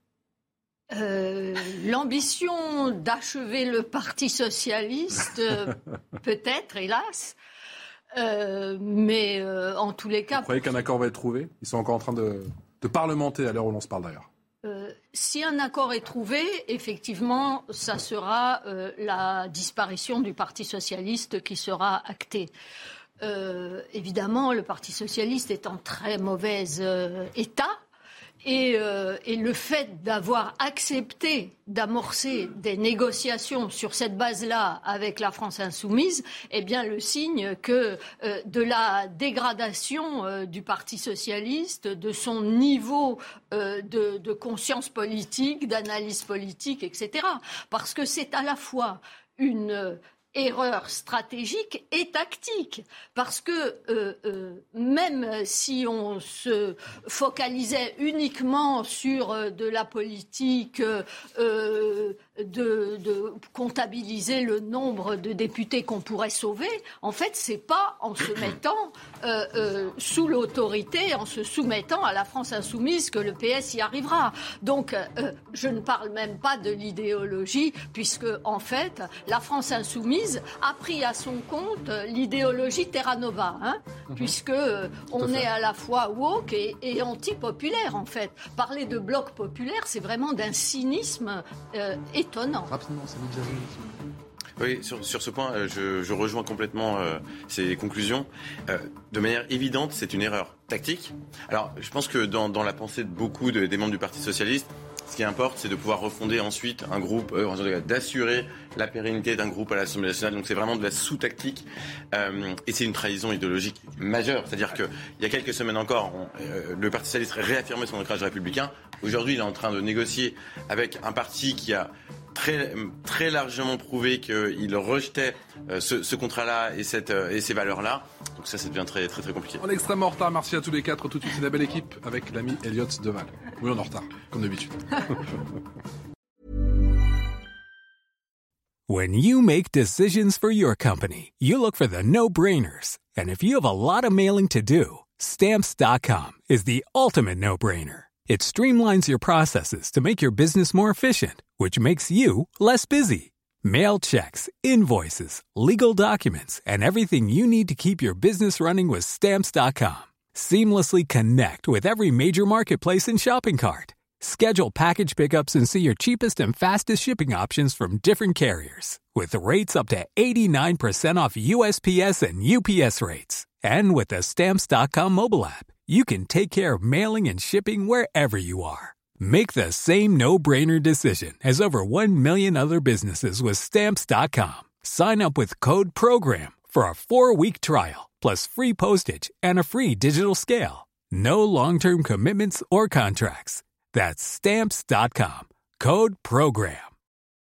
Speaker 8: L'ambition d'achever le Parti socialiste, peut-être, hélas. Mais en tous les cas...
Speaker 2: Vous croyez qu'un accord va être trouvé ? Ils sont encore en train de parlementer à l'heure où l'on se parle d'ailleurs.
Speaker 8: Si un accord est trouvé, effectivement, ça sera la disparition du Parti socialiste qui sera actée. Évidemment, le Parti socialiste est en très mauvais état. Et le fait d'avoir accepté d'amorcer des négociations sur cette base-là avec la France insoumise est bien le signe que de la dégradation du Parti socialiste, de son niveau de conscience politique, d'analyse politique, etc. Parce que c'est à la fois une erreur stratégique et tactique. Parce que même si on se focalisait uniquement sur de la politique de comptabiliser le nombre de députés qu'on pourrait sauver, en fait, c'est pas en se mettant sous l'autorité, en se soumettant à la France insoumise que le PS y arrivera. Donc, je ne parle même pas de l'idéologie, puisque, en fait, la France insoumise a pris à son compte l'idéologie Terra Nova, puisque on est à la fois woke et anti-populaire, en fait. Parler de bloc populaire, c'est vraiment d'un cynisme étonnant.
Speaker 2: Rapidement, ça vous déjà vu.
Speaker 10: Oui, sur ce point, je rejoins complètement ces conclusions. De manière évidente, c'est une erreur tactique. Alors, je pense que dans la pensée de beaucoup des membres du Parti socialiste, ce qui importe, c'est de pouvoir refonder ensuite un groupe, d'assurer la pérennité d'un groupe à l'Assemblée nationale. Donc c'est vraiment de la sous-tactique et c'est une trahison idéologique majeure. C'est-à-dire qu'il y a quelques semaines encore, le Parti socialiste réaffirmait son ancrage républicain. Aujourd'hui, il est en train de négocier avec un parti qui a très largement prouvé qu'il rejetait ce contrat-là et ces valeurs-là. Donc ça devient très, très, très compliqué.
Speaker 2: On est extrêmement en retard. Merci à tous les quatre. Tout de suite, c'est la belle équipe avec l'ami Elliot Deval. Oui, on est en retard, comme d'habitude.
Speaker 1: When you make decisions for your company, you look for the no-brainers. And if you have a lot of mailing to do, Stamps.com is the ultimate no-brainer. It streamlines your processes to make your business more efficient, which makes you less busy. Mail checks, invoices, legal documents, and everything you need to keep your business running with Stamps.com. Seamlessly connect with every major marketplace and shopping cart. Schedule package pickups and see your cheapest and fastest shipping options from different carriers. With rates up to 89% off USPS and UPS rates. And with the Stamps.com mobile app, you can take care of mailing and shipping wherever you are. Make the same no-brainer decision as over 1 million other businesses with Stamps.com. Sign up with code PROGRAM for a 4-week trial, plus free postage and a free digital scale. No long-term commitments or contracts. That's Stamps.com. Code PROGRAM.